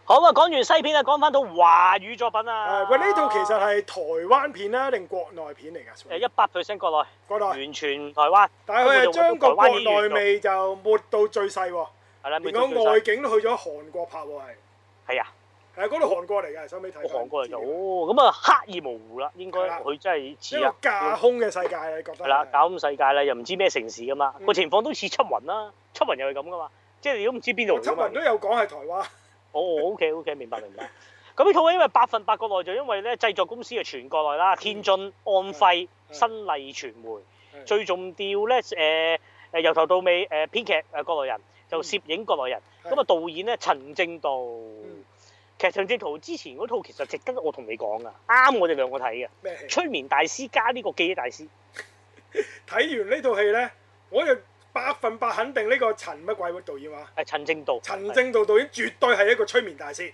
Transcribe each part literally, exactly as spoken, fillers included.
好啊，講完西片啊，講翻到華語作品啊。 誒喂，呢套其實係台灣片啦，定國內片嚟㗎？ 誒一百 percent 國內， 國內完全台灣。 但係佢係將個國內味味就抹到最細喎。 係啦， 連個外景都去咗韓國拍喎，係。 係啊。 係啊，嗰度韓國嚟嘅，收尾睇。 韓國嚟就哦，咁啊刻意模糊啦，應該佢真係似啊。 一個架空嘅世界啊，你覺得？ 係啦，架空世界啦，又唔知咩城市噶嘛，個嗯情況都似緝雲啦，緝雲又係咁噶嘛，即係你都唔知邊度。 緝雲都有講係台灣。 哦，OK OK，明白明白。咁呢套因為百分百國內就因為咧製作公司係全國內啦，天津、安徽、新麗傳媒，最重要咧誒誒由頭到尾誒編劇誒國內人，就攝影國內人，咁啊導演咧陳正道。其實陳正道之前嗰套其實值得我同你講噶，啱我哋兩個睇嘅。 咩戲？ 催眠大師加呢個記憶大師。 睇完呢套戲咧，我就百分百肯定呢個陳乜鬼嘅導演話。 係陳正道。 陳正道導演絕對係一個催眠大師。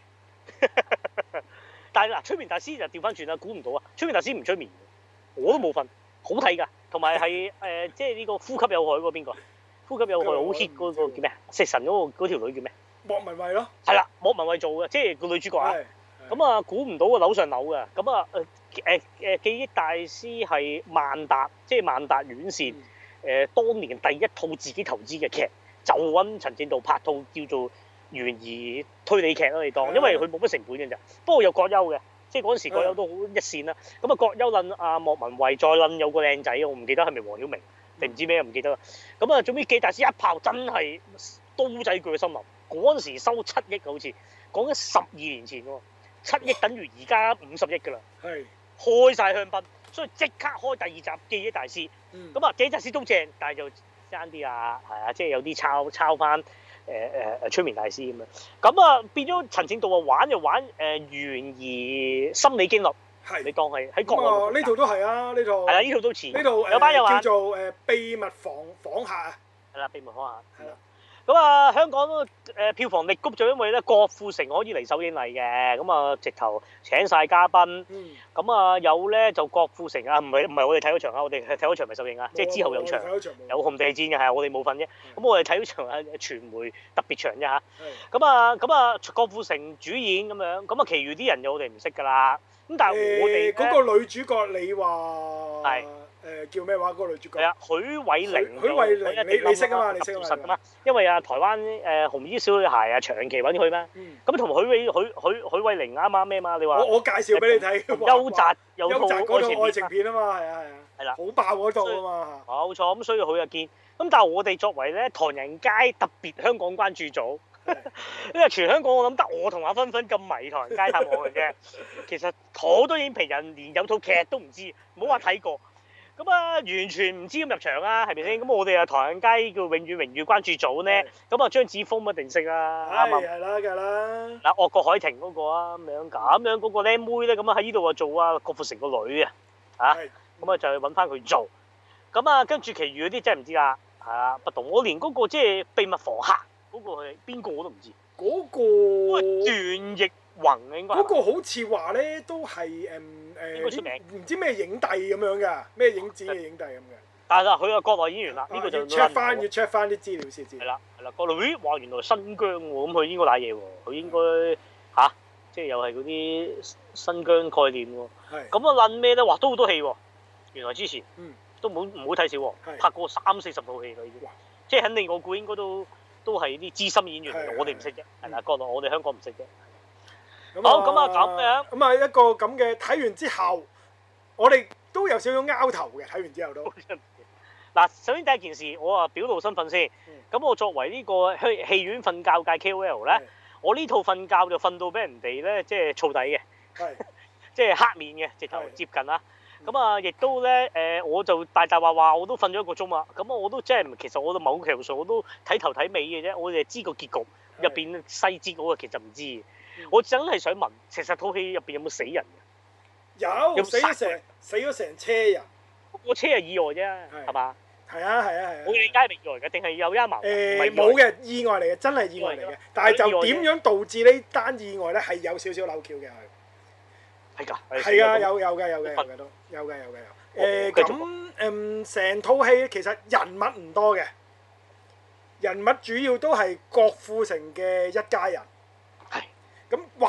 但係嗱，催眠大師就調翻轉啦，估唔到啊！催眠大師唔催眠，我都冇瞓，好睇㗎。同埋係誒，即係呢個呼吸有害嗰個邊個？呼吸有害好 hit 嗰個叫咩啊？食神嗰個嗰條女叫咩？ 莫文蔚咯。 係啦，莫文蔚做嘅，即係個女主角啊。咁啊，估唔到啊，樓上樓嘅。咁啊誒誒誒，記憶大師係萬達，即係萬達院線。誒，當年第一套自己投資嘅劇，就揾陳正道拍套叫做懸疑推理劇咯，你當，因為佢冇乜成本嘅咋。不過有葛優嘅，即係嗰陣時葛優都好一線啦。咁啊，葛優撚阿莫文蔚，再撚有個靚仔，我唔記得係咪黃曉明定唔知咩，唔記得啦。咁啊，總之記憶大師一炮真係刀仔鋸森林，嗰陣時收七億好似，講緊十二年前喎，七億等於而家五十億㗎啦。 係。 開晒香檳，所以即刻開第二集記憶大師。咁啊、嗯，記憶大師都正，但係就爭啲啊，係啊，即係有啲抄抄翻誒誒誒催眠大師咁樣。咁啊變咗陳正道啊玩就玩誒、呃、懸疑心理驚慄， 係你當係喺國內。 呢套都係啊，呢套。係啊，呢套都似。 呢套有班友叫做誒秘密訪訪客啊。 係啦，秘密訪客。 係啦。 咁啊，香港誒、呃、票房力谷就因為咧郭富城可以嚟首映禮嘅，咁啊直頭請晒嘉賓，咁、嗯、啊有咧就郭富城啊，唔係唔係我哋睇嗰場啊，我哋睇嗰場咪首映啊，即係之後有場，有紅地戰嘅係我哋冇份啫，咁、嗯、我哋睇嗰場啊傳媒特別場啫嚇，咁啊咁啊郭富城主演咁樣，咁啊其餘啲人就我哋唔識㗎啦，咁但係我哋嗰、欸那個女主角你話係。 誒叫咩話？嗰、那個女主角係啊，許偉玲。許偉玲，你你識啊嘛？你識啊嘛？因為啊，台灣誒、呃、紅衣小女孩啊，長期揾佢嘛。咁同許偉許許許偉玲啱啱咩嘛？你話我我介紹俾你睇。 優澤有套愛情片啊嘛，係啊係啊。係啦。好爆嗰套啊嘛。 冇錯，咁所以佢又見。咁但係我哋作為咧唐人街特別香港關注組，因為全香港我諗得我同阿芬芬咁迷唐人街探案嘅啫。其實好多影評人連有套劇都唔知，唔好話睇過。咁啊，完全唔知咁入場啊，係咪先？咁我哋啊，唐人街叫永遠榮譽關注組咧，咁啊，張子楓一定識啊，啱啱？ 係啦，梗啦。 嗱，惡國海婷嗰個啊，咁樣咁樣嗰個靚妹咧，咁啊喺呢度啊做啊郭富城個女啊，嚇，咁啊就去揾翻佢做。咁啊，跟住其餘嗰啲真係唔知啦，係啊，不同。我連嗰個即係秘密房客嗰個係邊個我都唔知。 嗰個段奕宏應該。 嗰個好似話咧，都係誒。 應該出名， 唔知咩影帝咁樣㗎，咩影展嘅影帝咁嘅。 但係啦，佢係國內演員啦，呢、啊、個就 check 翻，要 check 翻啲資料先知。 係啦，係啦，國內咦，話原來新疆喎，咁佢應該瀨嘢喎，佢應該吓、啊，即係又係嗰啲新疆概念喎。係。咁啊，撚咩咧？話都好多戲喎，原來之前，嗯，都冇唔好睇少喎，拍過三四十套戲啦已經。即係肯定我估應該都都係啲資深演員嚟，我哋唔識啫，係啦，國內我哋香港唔識啫。好，咁啊咁樣， 咁啊一個咁嘅睇完之後，我哋都有少少拗頭嘅。睇完之後都嗱，首先第一件事，我啊表露身份先。咁、嗯、我作為呢個戲戲院瞓覺界 K O L 咧，我呢套瞓覺就瞓到俾人哋咧，即係燥底嘅，即係黑面嘅，直頭接近啦。咁啊，亦都咧誒，我就大大話話我都瞓咗一個鐘啊。咁啊，我都即係其實我都某程度上我都睇頭睇尾嘅啫，我哋知個結局入邊細節嗰個其實唔知。我真係想問，其實套戲入邊有冇死人嘅？有，死咗成死咗成車人。 個車係意外啫，係嘛？ 係啊係啊係啊！ 我理解係意外嘅，定係有陰謀？ 誒冇嘅，意外嚟嘅，真係意外嚟嘅。但係就點樣導致呢單意外咧？係有少少扭橋嘅佢。係㗎。係啊，有有嘅有嘅有嘅都有嘅有嘅有。誒咁誒，成套戲其實人物唔多嘅，人物主要都係郭富城嘅一家人。咁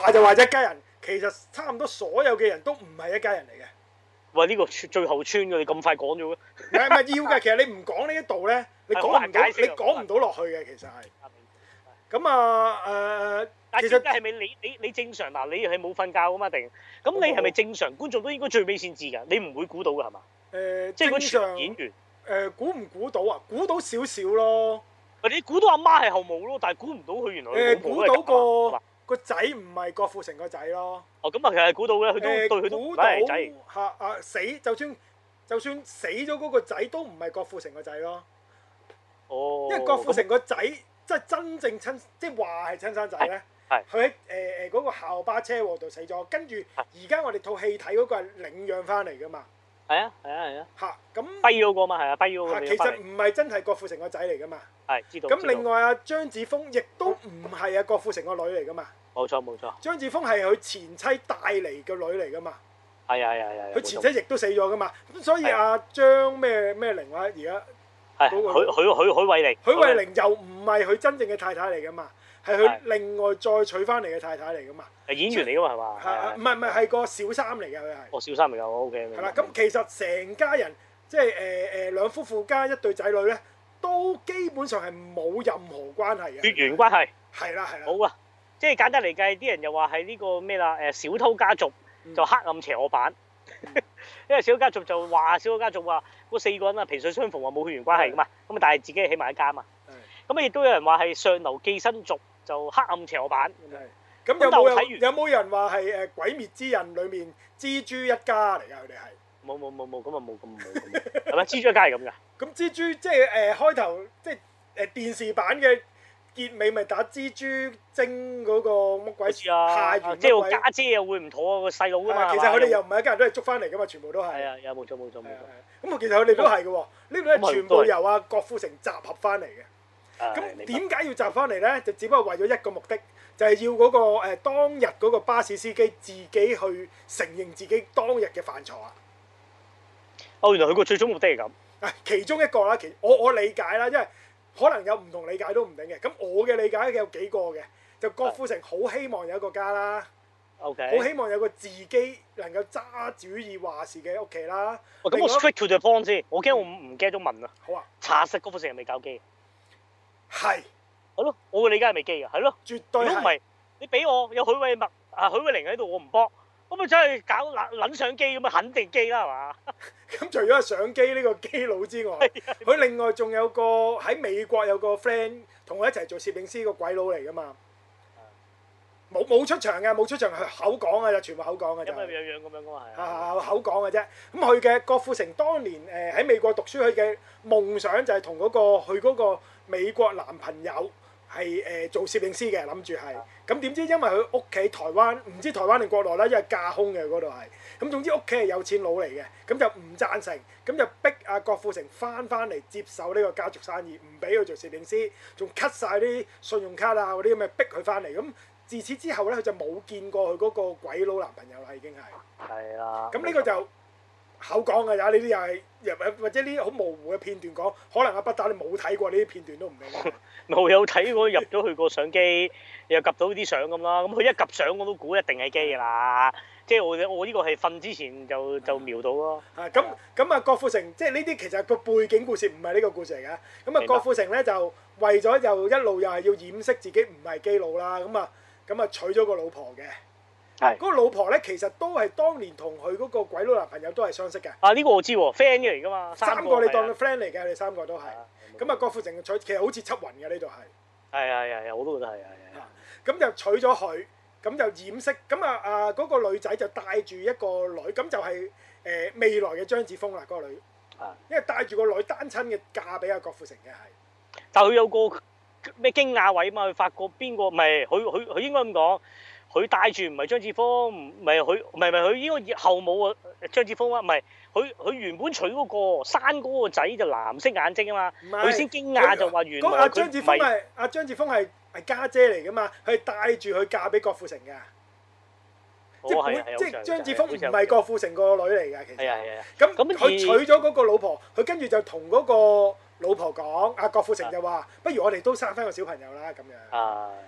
話就話一家人，其實差唔多所有嘅人都唔係一家人嚟嘅。 喂，呢個最後村嘅，你咁快講咗嘅？ 唔係唔係要嘅，其實你唔講呢一度咧，你講唔到，你講唔到落去嘅，其實係。咁啊誒， 但係其實係咪你你你正常嗱？你係冇瞓覺㗎嘛？定咁你係咪正常觀眾都應該最尾先知㗎？你唔會估到㗎係嘛？ 誒， 即係嗰場個演員誒估唔估到啊？估到少少咯。 你估到阿媽係後母咯，但係估唔到佢原來誒估到個個仔唔係郭富城個仔咯。 哦，咁啊，其實係估到嘅，佢都對佢都唔係仔。 嚇啊死！就算就算死咗嗰個仔都唔係郭富城個仔咯。 哦。 因為郭富城個仔即係真正親，即係話係親生仔咧。係。佢喺誒誒嗰個校巴車禍度死咗，跟住而家我哋套戲睇嗰個係領養翻嚟噶嘛。 係啊係啊係啊。 嚇咁。 跛嗰個嘛係啊，跛嗰個。 其實唔係真係郭富城個仔嚟噶嘛。 係知道。 咁另外啊，張子楓亦都唔係啊郭富城個女嚟噶嘛。 冇錯冇錯。 張子楓係佢前妻帶嚟嘅女嚟噶嘛。 係啊係啊係啊。 佢前妻亦都死咗噶嘛，咁所以阿張咩咩玲話而家係許許許許慧玲。 許慧玲又唔係佢真正嘅太太嚟噶嘛，係佢另外再娶翻嚟嘅太太嚟噶嘛。係演員嚟噶嘛係嘛？ 係唔係唔係係個小三嚟嘅佢係。哦小三嚟㗎，我 OK。 係啦，咁其實成家人即係誒誒兩夫婦加一對仔女咧，都基本上係冇任何關係嘅。 血緣關係。係啦係啦。 好啊，即係簡單嚟計，啲人又話係呢個咩啦？誒小偷家族就黑暗邪惡版，因為小偷家族就話小偷家族話嗰四個人啊，萍水相逢話冇血緣關係噶嘛，咁啊但係自己係起埋一家嘛。咁啊亦都有人話係上流寄生族就黑暗邪惡版。 咁有冇人有冇人話係誒鬼滅之刃裡面蜘蛛一家嚟㗎？佢哋係冇冇冇冇咁啊冇咁冇，係咪蜘蛛一家係咁㗎？ 咁蜘蛛即係誒開頭即係誒電視版嘅結尾咪打蜘蛛精嗰個乜鬼事啊？下元即係個家姐又會唔妥啊個細佬㗎嘛？ 其實佢哋又唔係一家人都係捉翻嚟㗎嘛，全部都係。係啊，有冇錯冇錯冇錯。 咁其實佢哋都係嘅喎，呢度係全部由阿郭富城集合翻嚟嘅。咁點解要集翻嚟咧？就只不過為咗一個目的，就係要嗰個誒當日嗰個巴士司機自己去承認自己當日嘅犯錯啊！ 哦，原來佢個最終目的係咁。 啊，其中一個啦，其我我理解啦，因為可能有唔同理解都唔定嘅。咁我嘅理解有幾個嘅，就郭富城好希望有一個家啦。 OK。 好希望有個自己能夠揸主意話事嘅屋企啦。 咁我 straight to the point 先，我驚我唔唔記得咗問啊。 好啊。 查實郭富城係未搞基。 係。 係咯，我嘅理解係未基嘅，係咯。 絕對係。 如果唔係，你俾我有許偉默啊、許慧玲喺度，我唔幫，咁咪真係搞撚撚相機咁啊，肯定基啦，係嘛？ 咁除咗係相機呢個基佬之外，佢另外仲有個喺美國有個 friend 同我一齊做攝影師個鬼佬嚟噶嘛。冇冇出場嘅，冇出場係口講嘅啫，全部口講嘅就。 咁啊樣樣咁樣噶嘛係。 啊口講嘅啫，咁佢嘅郭富城當年誒喺美國讀書，佢嘅夢想就係同嗰個佢嗰個美國男朋友係誒做攝影師嘅，諗住係。咁點知因為佢屋企台灣，唔知台灣定國內啦，因為架空嘅嗰度係。咁總之屋企係有錢佬嚟嘅，咁就唔贊成，咁就逼阿郭富城翻翻嚟接手呢個家族生意，唔俾佢做攝影師，仲 cut 曬啲信用卡啊嗰啲咁嘅逼佢翻嚟咁。自此之後咧，佢就冇見過佢嗰個鬼佬男朋友啦，已經係。係啊。咁呢個就口講嘅咋，呢啲又係又或者呢啲好模糊嘅片段講，可能阿不打你冇睇過呢啲片段都唔定。 冇有睇過入咗去個相機，又及到啲相咁啦。咁佢一及相我都估一定係機㗎啦。即係我我呢個係瞓之前就就瞄到咯。 啊咁咁啊，郭富城即係呢啲其實個背景故事唔係呢個故事嚟嘅。咁啊，郭富城咧就為咗又一路又係要掩飾自己唔係基佬啦，咁啊。咁啊娶咗個老婆嘅，係嗰個老婆咧，其實都係當年同佢嗰個鬼佬男朋友都係相識嘅。啊呢個我知喎 friend 嚟㗎嘛，三個你當佢 friend 嚟嘅，佢哋三個都係。咁啊，郭富城娶其實好似七雲嘅呢度係。係係係，我都覺得係係係。咁就娶咗佢，咁就掩飾。咁啊啊嗰個女仔就帶住一個女，咁就係誒未來嘅張子楓啦，嗰個女。啊。因為帶住個女單親嘅嫁俾阿郭富城嘅係。但係佢有個。咩驚訝位嘛？佢發覺邊個？唔係佢佢佢應該咁講，佢帶住唔係張子楓，唔係佢唔係唔係佢應該後母啊張子楓啊，唔係佢佢原本娶嗰個生嗰個仔就藍色眼睛啊嘛，佢先驚訝就話原來佢張子楓係阿張子楓係係家姐嚟噶嘛，佢帶住佢嫁俾郭富城㗎。即係本即係張子楓唔係郭富城個女嚟㗎，其實。係啊係啊。咁咁佢娶咗嗰個老婆，佢跟住就同嗰個老婆講，阿郭富城就話：不如我哋都生翻個小朋友啦咁樣。啊，咁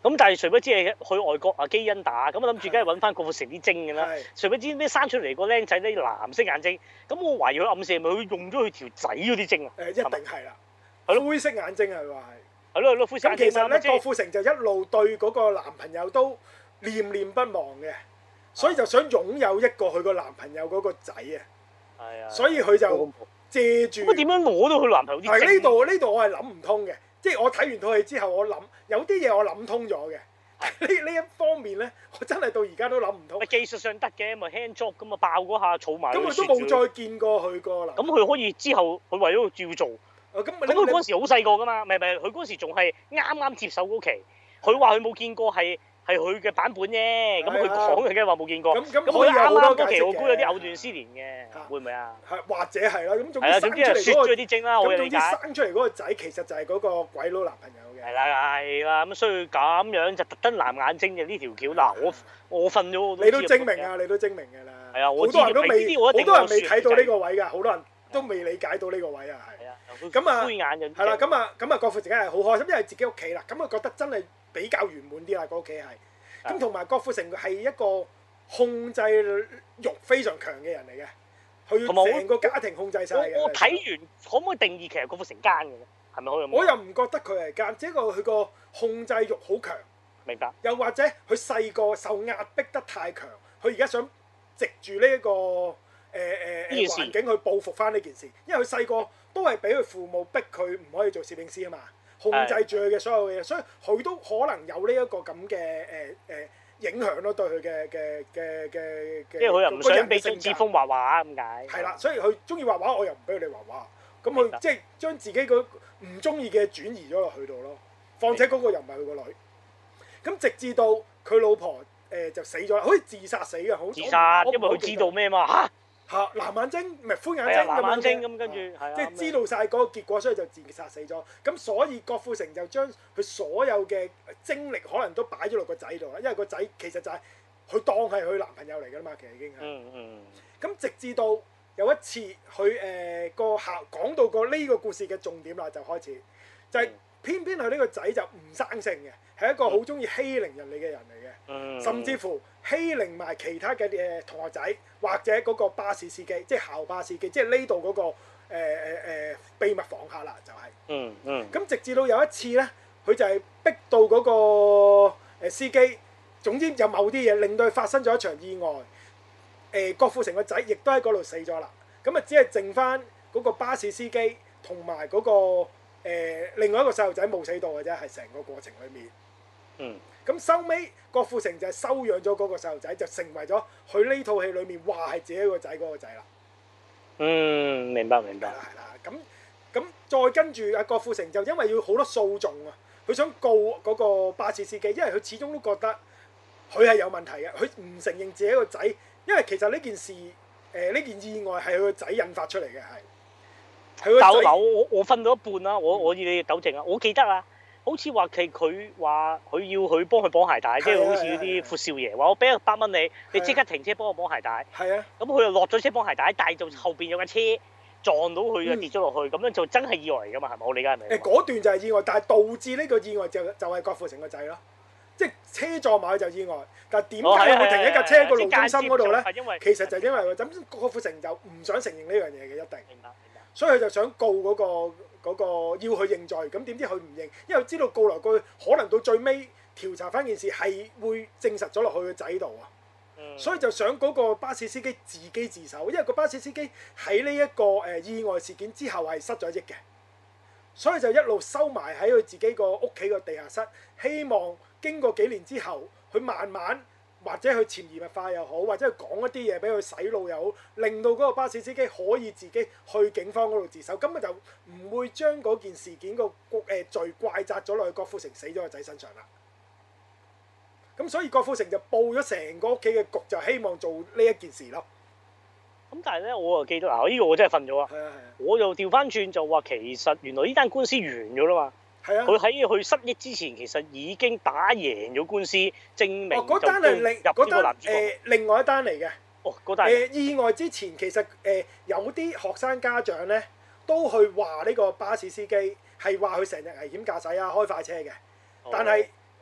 咁但係誰不知係去外國啊基因打，咁我諗住梗係揾翻郭富城啲精㗎啦。誰不知咩生出嚟個僆仔咧藍色眼睛，咁我懷疑佢暗示係咪佢用咗佢條仔嗰啲精啊？ 誒，一定係啦。係咯，灰色眼睛係話係。 係咯係咯，灰色眼睛。 咁其實咧，郭富城就一路對嗰個男朋友都念念不忘嘅，所以就想擁有一個佢個男朋友嗰個仔啊。係啊。所以佢就借住。咁點樣攞到佢男朋友啲精？係呢度呢度我係諗唔通嘅。即係我睇完套戲之後，我諗有啲嘢我諗通咗嘅。呢呢一方面咧，我真係到而家都諗唔通。技術上得嘅，咪 hand job 咁啊，爆嗰下儲埋。咁佢都冇再見過佢個啦。咁佢可以之後，佢為咗照做。咁咁佢嗰陣時好細個㗎嘛，唔係唔係，佢嗰陣時仲係啱啱接手嗰期。佢話佢冇見過係。係佢嘅版本啫，咁佢講嘅梗係話冇見過。咁咁佢啱啱嗰期我估有啲藕斷絲連嘅，會唔會啊？係或者係啦，咁總之生出嚟嗰個啲精啦，我理解。咁總之生出嚟嗰個仔其實就係嗰個鬼佬男朋友嘅。係啦係啦，咁所以咁樣就特登藍眼睛嘅呢條橋嗱，我我瞓咗我都。你都精明啊！你都精明㗎啦。係啊，好多人都未，好多人未睇到呢個位㗎，好多人都未理解到呢個位啊，係。係啊。咁啊，灰眼就係啦，咁啊，咁啊，郭富城梗係好開心，因為自己屋企啦，咁啊覺得真係。比較圓滿啲啦，個屋企係，咁同埋郭富城係一個控制欲非常強嘅人嚟嘅，佢成個家庭控制晒嘅。我睇完可唔可以定義其實郭富城奸嘅咧？係咪可以？我又唔覺得佢係奸，只不過佢個控制欲好強。明白。又或者佢細個受壓迫得太強，佢而家想藉住呢一個誒誒誒環境去報復翻呢件事，因為佢細個都係俾佢父母逼佢唔可以做攝影師啊嘛。控制住佢嘅所有嘢，所以佢都可能有呢一個咁嘅誒誒影響咯，對佢嘅嘅嘅嘅嘅。即係佢又唔想俾張志峰畫畫咁解。係啦，所以佢中意畫畫，我又唔俾佢哋畫畫。咁佢即係將自己個唔中意嘅轉移咗落去度咯。況且嗰個又唔係佢個女。咁直至到佢老婆誒就死咗，好似自殺死嘅，好自殺，因為佢知道咩嘛嚇。嚇藍眼睛唔係灰眼睛咁樣嘅，咁跟住即係知道晒嗰個結果，所以就自殺死咗。咁所以郭富城就將佢所有嘅精力可能都擺咗落個仔度啦，因為個仔其實就係佢當係佢男朋友嚟㗎嘛，其實已經係。嗯嗯。咁直至到有一次，佢誒個校講到個呢個故事嘅重點啦，就開始就係偏偏佢呢個仔就唔生性嘅，係一個好中意欺凌人哋嘅人嚟嘅，嗯、甚至乎欺凌埋其他嘅誒同學仔，或者嗰個巴士司機，即係校巴司機，即係呢度嗰個誒誒誒秘密訪客啦，就係、是。嗯嗯。咁直至到有一次咧，佢就係逼到嗰個司機，總之有某啲嘢令到佢發生咗一場意外。誒、呃，郭富城個仔亦都喺嗰度死咗啦。咁啊，只係剩翻嗰個巴士司機同埋嗰個。誒、呃、另外一個細路仔冇死到嘅啫，係成個過程裏面。嗯。咁收尾，郭富城就係收養咗嗰個細路仔，就成為咗佢呢套戲裏面話係自己個仔嗰個仔啦。嗯，明白明白。係啦係啦，咁咁再跟住阿郭富城就因為要好多訴訟啊，佢想告嗰個巴士司機，因為佢始終都覺得佢係有問題嘅，佢唔承認自己個仔，因為其實呢件事誒呢、呃、件意外係佢個仔引發出嚟嘅係。但嗱我我瞓到一半啦，我我要你糾正啊！我記得啊，好似話佢佢話佢要佢幫佢綁鞋帶，即係好似嗰啲闊少爺話我俾一百蚊你，你即刻停車幫我綁鞋帶。係啊。咁佢又落咗車綁鞋帶，但係就後邊有架車撞到佢啊，跌咗落去，咁樣就真係意外嚟㗎嘛？係咪？我理解係咪？誒嗰段就係意外，但係導致呢個意外就就係郭富城個仔咯，即係車撞埋就意外，但係點解會停喺架車個路中心嗰度咧？其實就因為咁，郭富城就唔想承認呢樣嘢嘅，一定。明白。所以佢就想告嗰個嗰個要佢認罪，咁點知佢唔認，因為知道告來告去，可能到最尾調查翻件事係會證實咗落去個仔度啊。嗯、所以就想嗰個巴士司機自己自首，因為個巴士司機喺呢一個誒意外事件之後係失咗憶嘅，所以就一路收埋喺佢自己個屋企個地下室，希望經過幾年之後，佢慢慢。或者佢潛移默化又好，或者佢講一啲嘢俾佢洗腦又好，令到嗰個巴士司機可以自己去警方嗰度自首，咁咪就唔會將嗰件事件個誒罪怪責咗落去郭富城死咗個仔身上啦。咁所以郭富城就報咗成個屋企嘅局，就希望做呢一件事咯。咁但係咧，我又記得嗱，呢個我真係瞓咗啊！係啊係啊！我又調翻轉就話，其實原來呢單官司完咗啦嘛。係啊！佢喺佢失憶之前，其實已經打贏咗官司，證明就入呢個男主角。誒，另外一單嚟嘅。哦，嗰單。誒，意外之前其實誒有啲學生家長咧，都去話呢個巴士司機係話佢成日危險駕駛啊，開快車嘅。但係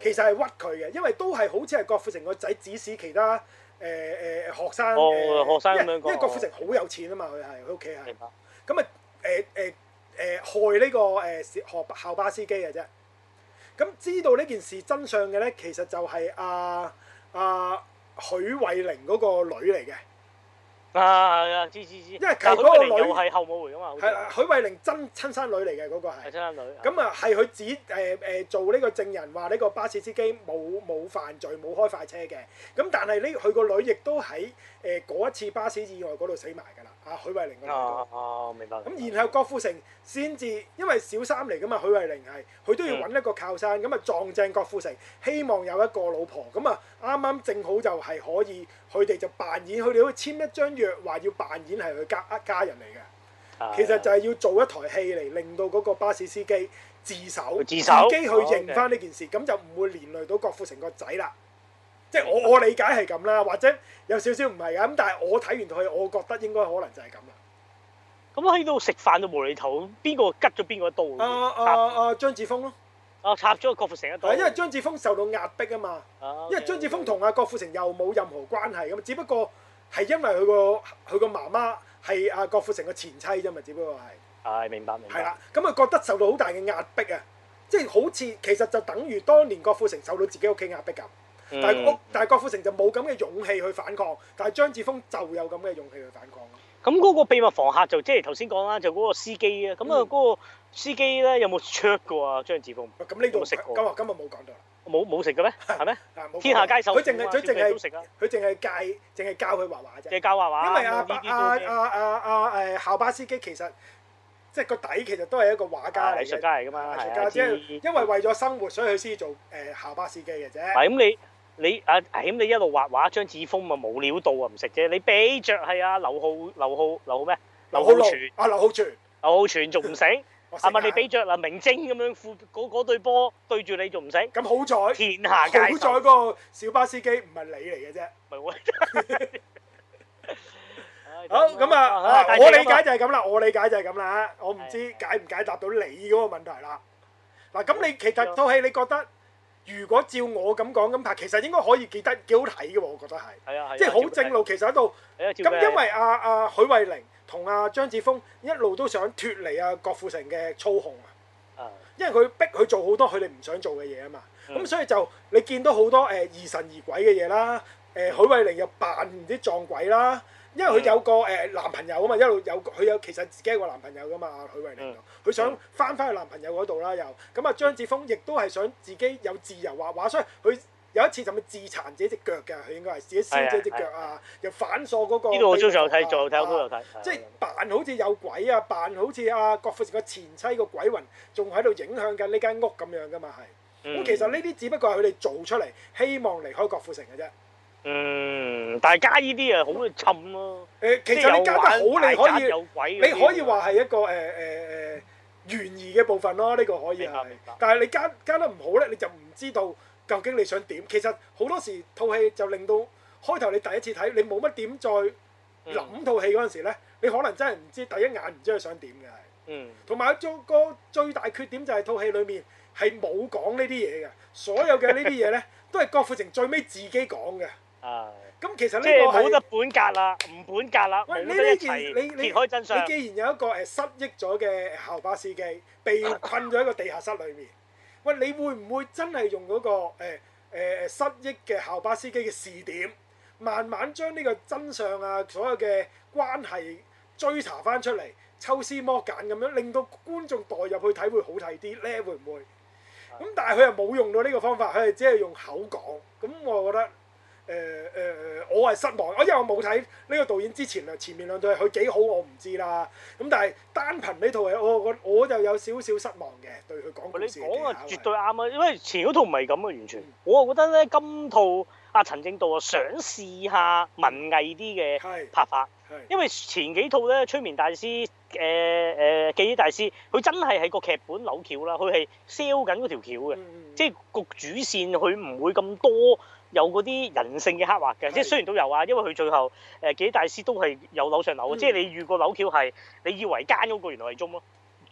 其實係屈佢嘅，因為都係好似係郭富城個仔指使其他誒誒、呃呃、學生哦， 呃、 學生咁樣講。 因為郭富城好有錢啊嘛，佢係佢屋企係。 明白。 咁啊誒誒誒害呢、這個誒學校巴司機嘅啫。咁知道呢件事真相嘅咧，其實就係阿阿許慧玲嗰個女嚟嘅。 啊係啊，知知知。因為佢嗰個女又係後母嚟噶嘛。 係啦，許慧玲真親生女嚟嘅嗰個係。係親生女。 咁啊，係佢指誒誒做呢個證人，話呢個巴士司機冇冇犯罪，冇開快車嘅。咁但係呢，佢個女亦都喺誒嗰一次巴士意外嗰度死埋㗎啦。啊，許慧玲嗰個。 哦哦，明白。 咁然後郭富城先至，因為小三嚟㗎嘛，許慧玲係，佢都要揾一個靠山，咁啊、嗯、撞正郭富城，希望有一個老婆，咁啊啱啱正好就係可以，佢哋就扮演，佢哋好似簽一張約，話要扮演係佢家一家人嚟嘅。其實就係要做一台戲嚟，令到嗰個巴士司機自首， 自首自己去認翻呢件事，咁、哦 okay. 就唔會連累到郭富城個仔啦。即係我我理解係咁啦，或者有少少唔係㗎，咁但係我睇完套戲，我覺得應該可能就係咁啦。 咁喺度食飯就無厘頭，邊個拮咗邊個一刀？ 啊啊啊！張子楓咯。 啊！插咗郭富城一刀。 因為張子楓受到壓迫啊嘛。啊 okay, 因為張子楓同阿郭富城又冇任何關係咁，只不過係因為佢個佢個媽媽係阿郭富城嘅前妻啫嘛，只不過係。係明白明白。係啦，咁佢覺得受到好大嘅壓迫啊，即係好似其實就等於當年郭富城受到自己屋企壓迫咁。但係屋，但係郭富城就冇咁嘅勇氣去反抗，但係張子楓就有咁嘅勇氣去反抗咯。 咁嗰個秘密房客就即係頭先講啦，就嗰個司機啊。咁啊嗰個司機咧有冇灼過啊張子楓？ 咁呢度食過。今日今日冇講到啦。冇冇食嘅咩？係咩？天下皆手。 佢淨係佢淨係佢淨係教淨係教佢畫畫啫。 即係教畫畫。 因為阿阿阿阿阿誒校巴司機其實即係個底其實都係一個畫家嚟嘅。藝術家嚟㗎嘛。藝術家即係因為為咗生活，所以佢先做誒校巴司機嘅啫。 係咁你。你啊，咁你一路畫畫，張子楓咪冇料到啊，唔食啫。你俾着係啊，劉浩、劉浩、劉浩咩？劉浩全啊，劉浩全， 劉浩全仲唔食？係咪你俾着嗱明晶咁樣副嗰嗰對波對住你仲唔食？ 咁好彩， 天下皆好彩個小巴司機唔係你嚟嘅啫。 咪喎。 好咁啊！我理解就係咁啦，我理解就係咁啦。我唔知解唔解答到你嗰個問題啦。嗱，咁你其實套戲你覺得？如果照我咁講咁拍，其實應該可以記得幾好睇嘅喎，我覺得係。係啊係。即係好正路，其實喺度。咁因為阿阿許慧玲同阿張子楓一路都想脫離阿郭富城嘅操控啊。因為佢逼佢做好多佢哋唔想做嘅嘢啊嘛。咁、嗯、所以就你見到好多誒、呃、疑神疑鬼嘅嘢啦。誒、呃、許慧玲又扮唔知撞鬼啦。因為佢有個誒、呃、男朋友啊嘛，一路有佢有其實自己有個男朋友噶嘛，許慧玲佢想翻返去男朋友嗰度啦，又咁啊張子楓亦都係想自己有自由畫畫，所以佢有一次就咪自殘自己隻腳嘅，佢應該係自己燒自己隻腳啊，又反鎖嗰個。呢度我最有睇，最有睇，我都有睇。即係扮好似有鬼啊，扮好似阿郭富城個前妻個鬼魂，仲喺度影響緊呢間屋咁樣噶嘛係。咁、嗯、其實呢啲只不過係佢哋做出嚟，希望離開郭富城嘅啫。嗯，但係加呢啲啊，好沉咯。誒，其實你加得好，你可以，你可以話係一個誒誒誒懸疑嘅部分咯。呢、這個可以係。但係你加加得唔好咧，你就唔知道究竟你想點。其實好多時套戲就令到開頭你第一次睇，你冇乜點再諗套戲嗰陣時咧，嗯、你可能真係唔知第一眼唔知佢想點嘅係。嗯。同埋做個最大缺點就係套戲裡面係冇講呢啲嘢嘅，所有嘅呢啲嘢咧都係郭富城最尾自己講嘅。啊！咁其實呢個係冇得本格啦，唔本格啦，冇得一齊揭開真相。你既然有一個誒失憶咗嘅校巴司機，被困咗喺個地下室裏面，喂，你會唔會真係用嗰個誒誒誒失憶嘅校巴司機嘅視點，慢慢將呢個真相啊，所有嘅關係追查翻出嚟，抽絲剝繭咁樣，令到觀眾代入去睇會好睇啲咧？會唔會？咁但係佢又冇用到呢個方法，佢係只係用口講。咁我覺得。誒誒誒，我係失望，我因為我冇睇呢個導演之前啊，前面兩套佢幾好我唔知啦。咁但係單憑呢套戲，我我我就有少少失望嘅，對佢講故事嘅技巧。你講啊，絕對啱啊，因為前嗰套唔係咁啊，完全。嗯、我啊覺得咧，今套阿陳正道啊，想試下文藝啲嘅拍法，因為前幾套咧，催眠大師、誒、呃、誒記憶大師，佢真係喺個劇本扭橋啦，佢係 sell 緊嗰條橋嘅，嗯、即係個主線佢唔會咁多。有嗰啲人性嘅刻畫嘅，即係雖然都有啊，因為佢最後誒記憶大師都係有樓上樓嘅，嗯、即係你遇過扭橋係，你以為奸嗰個原來係中咯，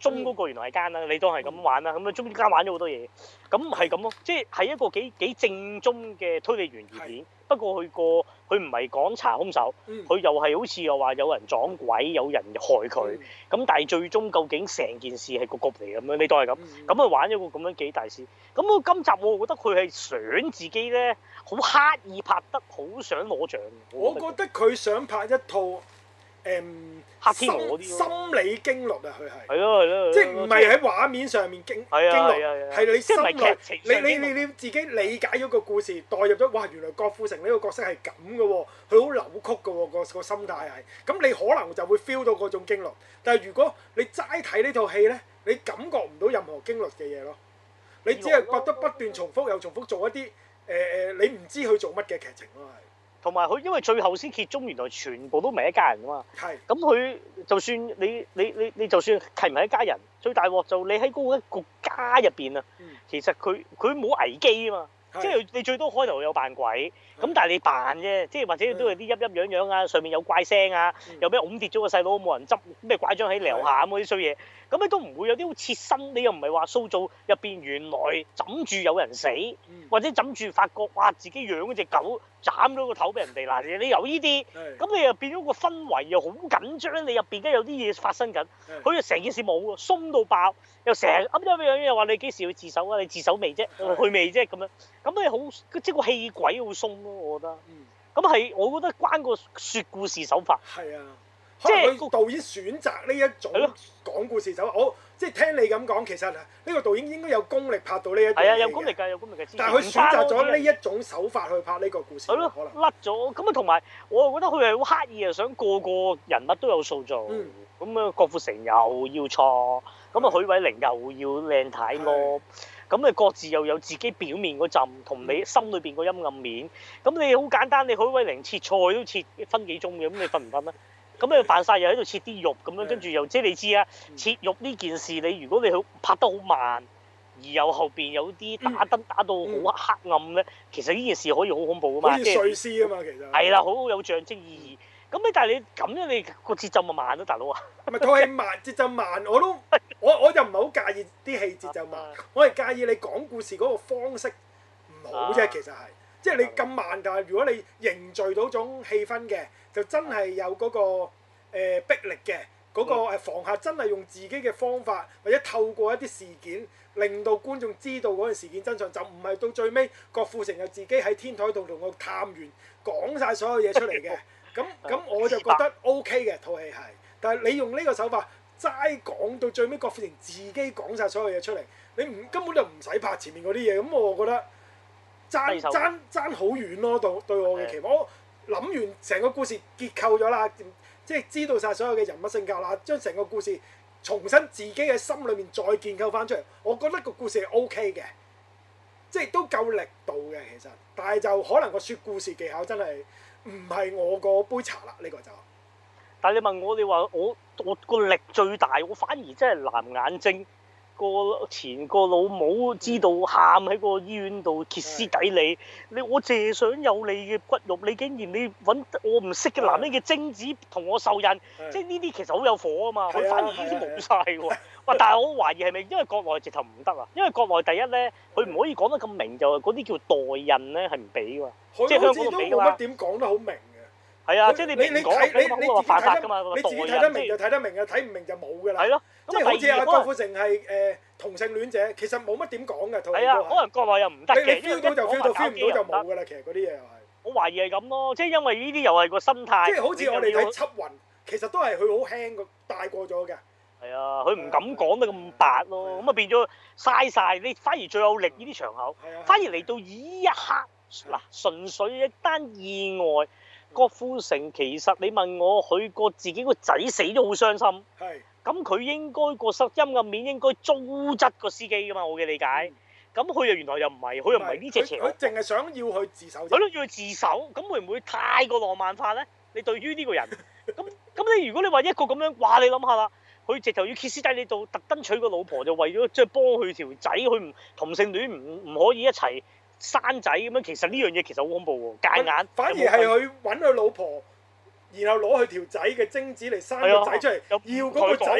中嗰個原來係奸啦，你當係咁玩啦，咁啊中間玩咗好多嘢，咁係咁咯，即係係一個幾幾正宗嘅推理懸疑片。不過佢個佢唔係講查兇手，佢又係好似又話有人撞鬼，有人害佢，咁但係最終究竟成件事係個局嚟咁樣，你當係咁，咁啊玩咗個咁樣幾大師。咁我今集我覺得佢係想自己咧，好刻意拍得好想攞獎。 我覺得佢想拍一套。誒、嗯、 黑天鵝啲心理驚慄啊！佢係係咯係咯， 即係唔係喺畫面上面驚驚慄，係你心內你你你你自己理解咗個故事，代入咗哇！原來郭富城呢個角色係咁嘅喎，佢好扭曲嘅喎，個個心態係咁，你可能就會 feel 到嗰種驚慄。但係如果你齋睇呢套戲咧，你感覺唔到任何驚慄嘅嘢咯，你只係覺得不斷重複又重複做一啲誒誒，你唔知佢做乜嘅劇情咯，係。 同埋佢因為最後先揭盅，原來全部都唔係一家人噶嘛。係。咁佢就算你你你你就算係唔係一家人，最大鑊就你喺嗰一個家入邊啊，嗯、其實佢佢冇危機啊嘛。即係你最多開頭有扮鬼，咁但係你扮啫，即係或者都係啲陰陰陽陽啊，上面有怪聲啊，有咩㧬跌咗個細佬冇人執，咩拐杖喺樓下咁嗰啲衰嘢，咁你都唔會有啲好切身，你又唔係話塑造入邊原來枕住有人死，或者枕住發覺哇自己養嗰隻狗斬咗個頭俾人哋嗱，你有呢啲，咁你又變咗個氛圍又好緊張，你入邊梗有啲嘢發生緊，佢就成件事冇喎，鬆到爆，又成日噏噏樣樣又話你幾時去自首啊？你自首未啫？去未啫？咁樣。咁你好，即係個戲軌好鬆咯，我覺得。咁係、嗯，我覺得關個説故事手法。係啊，即係個導演選擇呢一種講故事手法。我的即係聽你咁講，其實呢個導演應該有功力拍到呢一種。係啊，有功力㗎，有功力嘅。但係佢選擇咗呢一種手法去拍呢個故事。係咯的，可能甩咗。咁啊，同埋我又覺得佢係好刻意啊，想個個人物都有塑造。咁啊、嗯，郭富城又要錯，咁啊許瑋甯又要靚太咯。咁你各自又有自己表面嗰陣，同你心裏邊個陰暗面。咁你好簡單，你許瑋甯切菜都切分幾鐘嘅，咁你瞓唔瞓啊？咁你扮晒又喺度切啲肉咁樣，跟住又即係你知啊，切肉呢件事你如果你好拍得好慢，而又後邊有啲打燈打到好黑暗咧，其實呢件事可以好恐怖啊嘛。好似碎屍啊嘛，其實係啦，好有象徵意義。咁你但係你咁樣你個節奏咪慢咯，大佬啊！咪套戲慢節奏慢，我都我我就唔係好介意啲戲節奏慢，我係介意你講故事嗰個方式唔好啫。其實係，即係你咁慢，但係如果你凝聚到種氣氛嘅，就真係有嗰個誒逼力嘅，嗰個誒房客真係用自己嘅方法，或者透過一啲事件，令到觀眾知道嗰件事件真相，就唔係到最尾郭富城又自己喺天台度同個探員講晒所有嘢出嚟嘅。咁咁我就覺得 O K 嘅套戲係，但係你用呢個手法齋講到最尾，郭富城自己講晒所有嘢出嚟，你唔根本就唔使拍前面嗰啲嘢，咁我覺得爭爭爭好遠咯，對對我嘅期望。我諗完成個故事結構咗啦，即係知道晒所有嘅人物性格啦，將成個故事重新自己嘅心裏面再建構翻出嚟，我覺得個故事係 O K 嘅，即係都夠力度嘅其實，但係就可能個説故事技巧真係。唔係我個杯茶啦，呢、這個就。但係你問我，你話我我個力最大，我反而真係藍眼睛個前個老母知道喊喺個醫院度歇斯底里，你我淨想有你嘅骨肉，你竟然你揾我唔識嘅男人嘅精子同我受孕，即係呢啲其實好有火啊嘛，佢反而呢啲冇晒喎。哇！但係我懷疑係咪因為國內直頭唔得啊？因為國內第一咧，佢唔可以講得咁明，就係嗰啲叫代孕咧係唔俾㗎嘛，即係香港都冇乜點講得好明嘅。係啊，即係你你你睇你你自己睇得你自己睇得明就睇得明嘅，睇唔明就冇㗎啦。係咯，即係好似阿郭富城係誒同性戀者，其實冇乜點講嘅。係啊，可能國內又唔得嘅。你 feel 到就 feel 到 feel 唔到就冇㗎啦。其實嗰啲嘢又係。我懷疑係咁咯，即係因為呢啲又係個心態。即係好似我哋睇緝魂，其實都係佢好輕個帶過咗嘅。係啊，佢唔敢講得咁白咯，咁啊變咗嘥晒。你反而最有力呢啲場口，反而嚟到呢一刻嗱，純粹一單意外。郭富城其實你問我，佢個自己個仔死咗好傷心，咁佢應該個陰暗面應該糟質個司機噶嘛，我嘅理解。咁佢又原來又唔係，佢又唔係呢隻邪。佢淨係想要去自首。佢都要去自首，咁會唔會太過浪漫化咧？你對於呢個人，咁咁你如果你話一個咁樣，哇！你諗下啦。佢直頭要歇斯底里到特登娶個老婆，就為咗即係幫佢條仔，佢唔同性戀唔唔可以一齊生仔咁樣。其實呢樣嘢其實好恐怖喎，戒眼。反而係佢揾佢老婆，然後攞佢條仔嘅精子嚟生個仔出嚟，要嗰個仔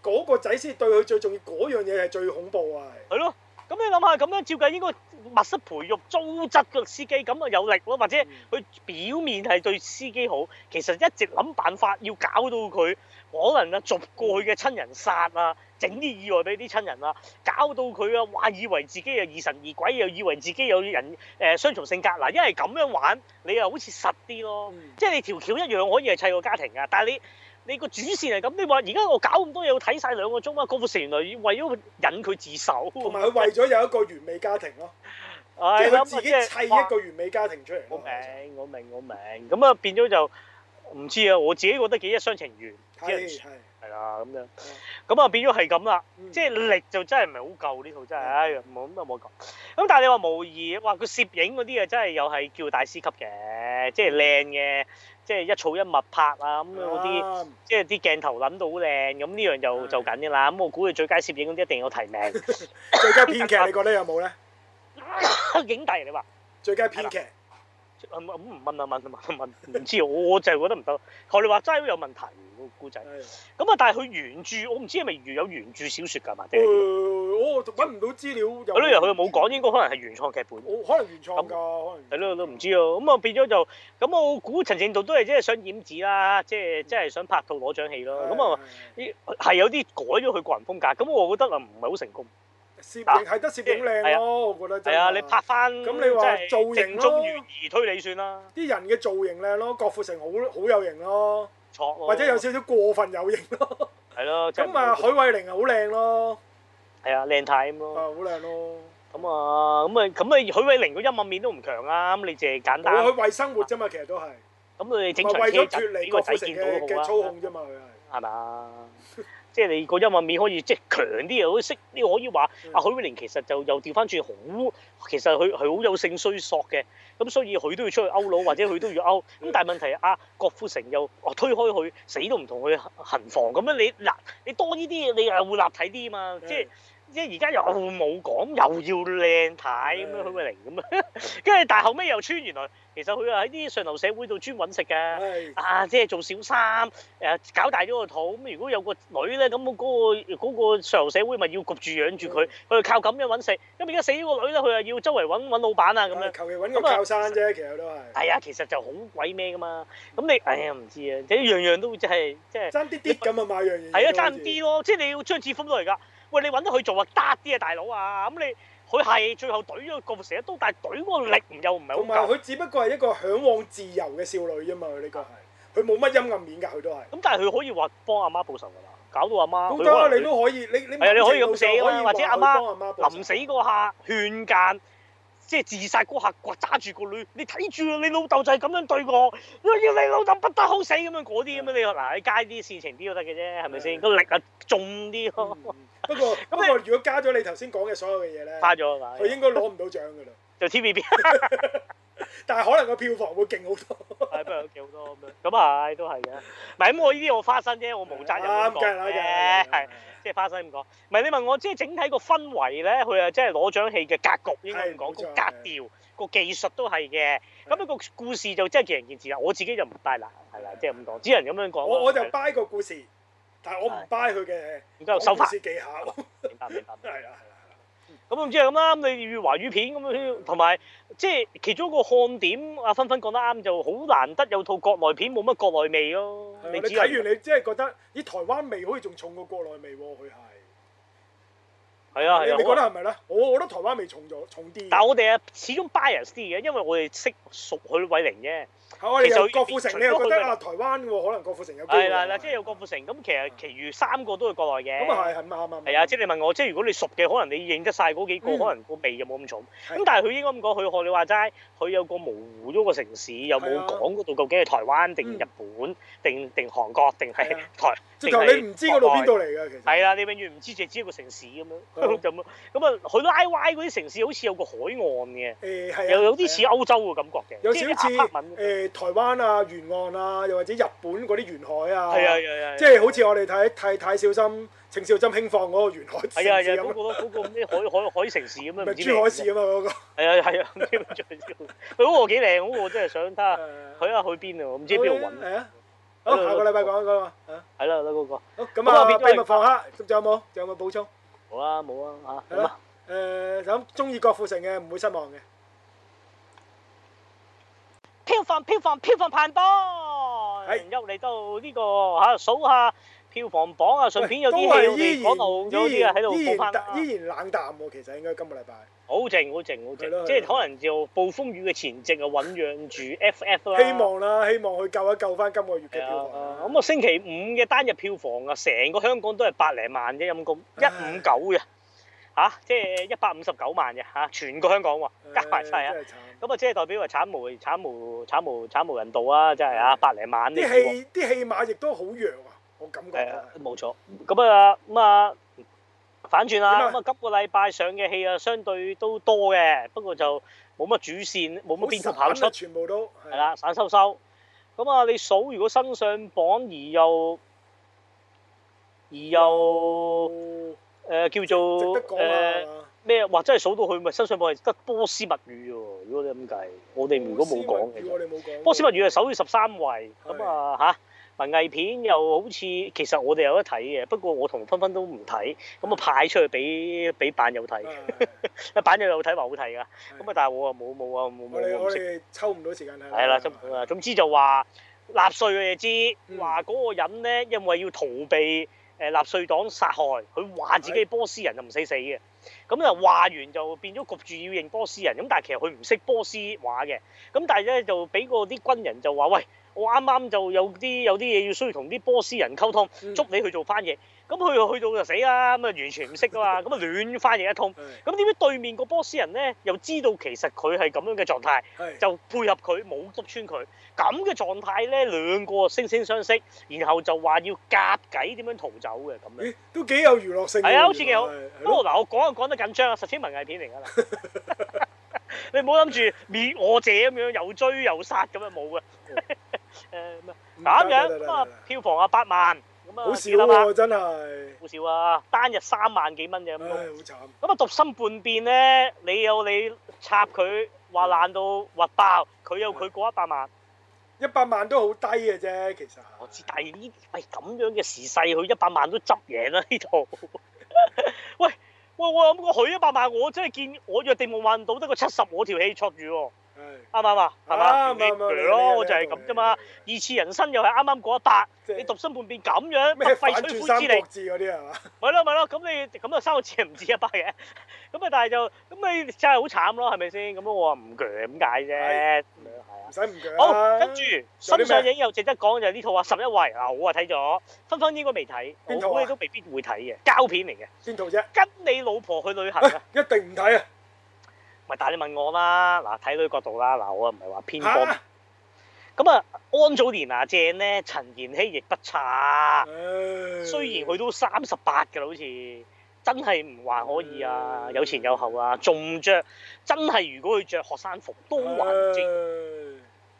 嗰個仔先對佢最重要，嗰樣嘢係最恐怖啊！ 係咯，咁你諗下咁樣照計應該密室培育糟質個司機咁啊有力咯，或者佢表面係對司機好，其實一直諗辦法要搞到佢可能啊逐過去嘅親人殺啊，整啲意外俾啲親人啊，搞到佢啊話以為自己又疑神疑鬼，又以為自己有人誒雙重性格嗱，因為咁樣玩你又好似實啲咯，嗯、即係你條橋一樣可以係砌個家庭㗎，但係你。你個主線係咁，你話而家我搞咁多嘢，我睇晒兩個鐘啊！郭富城原來為咗引佢自首， 同埋佢為咗有一個完美家庭咯，即係佢自己砌一個完美家庭出嚟。 我明，我明，我明。咁啊變咗就唔知啊！我自己覺得幾一廂情願， 係係係啦咁樣。咁啊變咗係咁啦，即係力就真係唔係好夠呢套真係，唉冇咁啊冇講。咁但係你話無疑，哇佢攝影嗰啲啊真係又係叫大師級嘅，即係靚嘅。即係一草一木拍啊咁嗰啲，即係啲鏡頭諗到好靚，咁呢樣就就緊㗎啦。咁我估佢最佳攝影嗰啲一定有提名。 最佳編劇你覺得有冇咧？ 影帝你話？最佳編劇？ 咁唔問啊問啊問問，唔知我就係覺得唔得。學你話齋都有問題個故仔。咁啊，但係佢原著我唔知係咪原有原著小説㗎嘛？誒， 我揾唔到資料。 係咯，佢冇講，應該可能係原創劇本。 可能原創㗎，可能。 係咯，都唔知啊。咁啊變咗就咁，我估陳正道都係即係想染指啦，即係即係想拍套攞獎戲咯。咁啊，係有啲改咗佢個人風格，咁我覺得啊唔係好成功。 攝影係得攝影靚咯，我覺得真係。 係啊，你拍翻咁你話造型咯， 中懸疑推理算啦。 啲人嘅造型靚咯，郭富城好好有型咯， 錯或者有少少過分有型咯。 係咯， 咁啊，許瑋甯啊好靚咯。 係啊，靚太咁咯。 啊，好靚咯。 咁啊，咁啊，咁啊，許瑋甯個陰暗面都唔強啊，咁你淨係簡單。 我去為生活啫嘛，其實都係。 咁你整場車就俾個仔見到好啊。操控啫嘛，佢係。 係嘛？即係你個陰暗面可以即係強啲又可以識，呢個可以話阿許瑋甯其實就又調翻轉好，其實佢係好有性需索嘅，咁所以佢都要出去勾佬，或者佢都要勾。咁但係問題阿郭富城又推開佢，死都唔同佢行房咁樣，你嗱你多呢啲嘢，你又會立體啲嘛？即係。即係而家又冇講，又要靚太咁樣許瑋甯咁啊，跟住但係後尾又穿，原來其實佢係喺啲上流社會度專揾食㗎，啊即係做小三，誒搞大咗個肚，咁如果有個女咧，咁嗰個嗰個上流社會咪要焗住養住佢，佢靠咁樣揾食，咁而家死咗個女咧，佢又要周圍揾揾老闆啊咁樣， 求其揾個靠山啫，其實都係。係啊，其實就好鬼咩㗎嘛，咁你哎呀唔知啊，即係樣樣都即係即係爭啲啲咁啊買樣嘢。 係啊，爭啲咯，即係你要張智峰都嚟㗎。喂，你揾到佢做啊，得啲啊，大佬啊！咁你佢係最後懟咗郭富城一刀，但係懟嗰個力又唔係好夠。同埋佢只不過係一個嚮往自由嘅少女啫嘛，佢呢個係，佢冇乜陰暗面㗎，佢都係。咁但係佢可以話幫阿媽報仇㗎啦，搞到阿媽。 好得，你都可以，你你係啊，你可以咁寫㗎嘛，或者阿媽臨臨死嗰下勸諫。即係自殺嗰下，揸住個女，你睇住啊！你老豆就係咁樣對我，我要你老豆不得好死咁樣嗰啲咁樣，你嗱喺街啲事情啲都得嘅啫，係咪先？個力啊重啲咯。 不過不過，如果加咗你頭先講嘅所有嘅嘢咧， 加咗係佢應該攞唔到獎㗎啦。 就 T V B。 但係可能個票房會勁好多。 係不過勁好多咁樣。咁啊，都係嘅。唔係咁，我呢啲我花生啫，我冇責任咁講嘅。係。即係花生咁講，唔係你問我，即係整體個氛圍咧，佢係即係攞獎戲嘅格局應該咁講，個格調、個技術都係嘅。咁一個故事就真係見仁見智啦。我自己就唔 buy 啦，係啦，即係咁講，只能咁樣講。 我我就 buy 個故事，但係我唔 buy 佢嘅手法技巧。 明白明白。 係啦係啦。 咁唔知係咁啦，咁你粵華語片咁樣，同埋即係其中一個看點，阿芬芬講得啱，就好難得有套國內片冇乜國內味咯。 你睇完你即係覺得咦台灣味好似仲重過國內味喎，佢係。 係啊係啊。 你覺得係咪咧？我我覺得台灣味重咗重啲。 但係我哋啊始終 bias 啲嘅，因為我哋識熟許瑋甯啫。 其實郭富城你又覺得啊台灣喎，可能郭富城有機會。 係啦啦，即係有郭富城，咁其實其餘三個都係國內嘅。 咁啊係係啱啱。 係啊，即係你問我，即係如果你熟嘅，可能你認得晒嗰幾個，可能個味就冇咁重。咁但係佢應該咁講，佢學你話齋，佢有個模糊咗個城市，又冇講嗰度究竟係台灣定日本定定韓國定係台。 直頭你唔知嗰度邊度嚟㗎，其實。 係啦，你永遠唔知，淨係知一個城市咁樣咁咯。咁啊，佢拉歪嗰啲城市好似有個海岸嘅。誒係啊。又有啲似歐洲嘅感覺嘅。 有少少似誒台灣啊。沿岸啊，又或者日本嗰啲沿海啊， 係啊係啊， 即係好似我哋睇睇太小心，程少珍輕放嗰個沿海城市係啊係啊，嗰個嗰個咩海海海城市咁樣， 咪珠海市啊嘛嗰個。係啊係啊，唔知點做佢嗰個幾靚，嗰個真係想睇下，去下去邊啊？唔知邊度揾。 好，下個禮拜講嗰個啊。 係啦，嗰個。 好，咁啊，秘密訪客，仲有冇？仲有冇補充？ 冇啊，冇啊，嚇。 係咯。誒，咁中意郭富城嘅唔會失望嘅。 票房票房票房排行榜，又嚟到呢個嚇數下票房榜啊，順便有啲戲我哋講到咗啲啊喺度補翻啦。 依然冷淡喎，其實應該今個禮拜。 好靜好靜好靜，即係可能就暴風雨嘅前夕啊，醖釀住 F F 啦。 希望啦，希望佢救一救翻今個月嘅票房。 咁啊，星期五嘅單日票房啊，成個香港都係百零萬啫，陰公一五九嘅。嚇，即係一百五十九萬嘅嚇，全個香港喎，加埋晒啊！咁啊，即係代表話慘無慘無慘無慘無人道啊！真係啊，百零萬啲戲啲戲碼亦都好弱啊，我感覺。 誒，冇錯。咁啊咁啊，反轉啦！咁啊，今個禮拜上嘅戲啊，相對都多嘅，不過就冇乜主線，冇乜邊個跑出， 全部都係啦，散收收。咁啊，你數如果新上榜而又而又誒、呃、叫做誒咩？哇、呃！真係數到佢咪新上榜係得波斯物語喎。如果你咁計，我哋如果冇講嘅，波斯物語係首要十三位。咁的啊嚇，文藝片又好似其實我哋有得睇嘅，不過我同芬芬都唔睇。咁啊派出去俾俾版友睇，啊版友有睇話好睇㗎。咁啊的但係我啊冇冇啊冇冇冇。 我哋抽唔到時間睇。 係啦，抽唔到啊。總之就話納粹嘅嘢知，話嗰個人咧因為要逃避。誒納粹黨殺害佢，話自己波斯人就唔使死嘅，咁就話完就變咗焗住要認波斯人，咁但係其實佢唔識波斯話嘅，咁但係咧就俾個啲軍人就話喂，我啱啱就有啲有啲嘢要需要同啲波斯人溝通，捉你去做翻譯，咁佢去到就死啦，咁啊完全唔識噶嘛，咁啊亂翻譯一通，咁點知對面個波斯人咧又知道其實佢係咁樣嘅狀態，就配合佢冇篤穿佢，咁嘅狀態咧兩個惺惺相惜，然後就話要夾計點樣逃走嘅咁樣， 都幾有娛樂性。 係啊，好似幾好。不過嗱，我講就講得緊張啊，實踐文藝片嚟㗎啦。你唔好諗住滅我者咁樣又追又殺咁啊，冇嘅。誒咁樣咁啊，票房啊八萬，咁啊好少喎，真係好少啊，單日三萬幾蚊啫咁。 唉，好慘。 咁啊，獨身叛變咧，你有你插佢話爛到核爆，佢有佢過一百萬。 一百萬都好低嘅啫，其實。 我知，但係呢喂咁樣嘅時勢，佢一百萬都執贏啦呢度。喂喂，我諗過佢一百萬，我真係見我約定夢幻島得個七十，我條氣戳住喎。啱唔啱啊？係嘛？條氣咯，我就係咁啫嘛。二次人生又係啱啱過一百，你獨身叛變咁樣， 咩廢吹灰之力嗰啲係嘛？ 咪咯咪咯，咁你咁啊三個字係唔止一百嘅，咁啊但係就咁你真係好慘咯，係咪先？咁我話唔鋸咁解啫。 唔使唔鋸。 好，跟住新上映又值得講就係呢套啊，十一位嗱，我啊睇咗，芬芬應該未睇，我估你都未必會睇嘅，膠片嚟嘅。 邊套啫？ 跟你老婆去旅行啊？ 一定唔睇啊！ 咪但係你問我啦，嗱睇女角度啦，嗱我唔係話偏幫。咁啊，安祖蓮娜正咧，陳妍希亦不差。雖然佢都三十八㗎啦，好似真係唔還可以啊，有前有後啊，仲着真係如果佢着學生服都還正。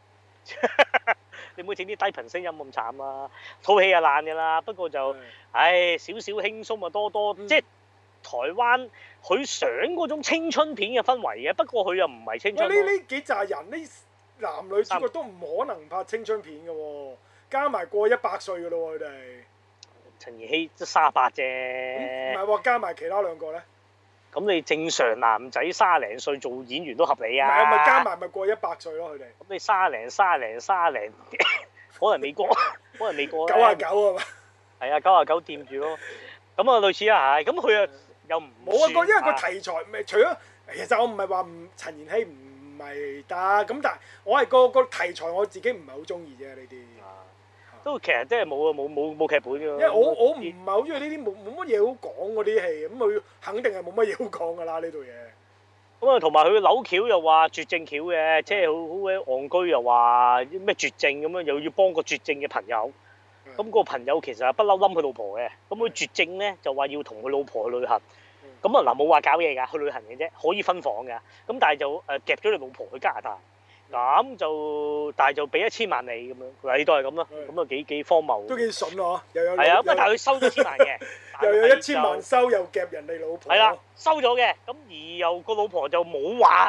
你唔好整啲低頻聲音咁慘啊！套戲啊爛㗎啦，不過就唉少少輕鬆啊，多多即係台灣佢想嗰種青春片嘅氛圍嘅，不過佢又唔係青春。 呢呢幾紮人呢？男女主角都唔可能拍青春片嘅喎，加埋過一百歲嘅咯喎，佢哋。 陳妍希都三十八啫。 唔係喎，加埋其他兩個咧。咁你正常男仔三十零歲做演員都合理啊。 唔係，咪加埋咪過一百歲咯，佢哋。 咁你三十零、三十零、三十零，可能未過，可能未過。 九啊九啊嘛。係啊，九啊九掂住咯。咁啊，類似啊，係。咁佢啊又唔冇啊個，因為個題材咪除咗，其實我唔係話唔陳妍希唔。唔係得咁，但係我係個個題材我自己唔係好中意啫呢啲。 都其實真係冇啊，冇冇冇劇本㗎。因為我我唔係好中意呢啲冇冇乜嘢好講嗰啲戲，咁佢肯定係冇乜嘢好講㗎啦呢套嘢。 咁啊，同埋佢扭橋又話絕症橋嘅，即係好好鬼戇居又話咩絕症咁樣，又要幫個絕症嘅朋友。咁個朋友其實係不嬲冧佢老婆嘅，咁佢絕症咧就話要同佢老婆去旅行。咁啊嗱，冇話搞嘢㗎，去旅行嘅啫，可以分房㗎。咁但係就誒夾咗你老婆去加拿大，咁就但係就俾一千萬你咁樣，嗱你都係咁咯，咁啊幾幾荒謬。 都幾筍喎，又有係啊，咁啊但係佢收咗千萬嘅， 又有一千萬收又夾人哋老婆。 係啦，收咗嘅，咁而又個老婆就冇話同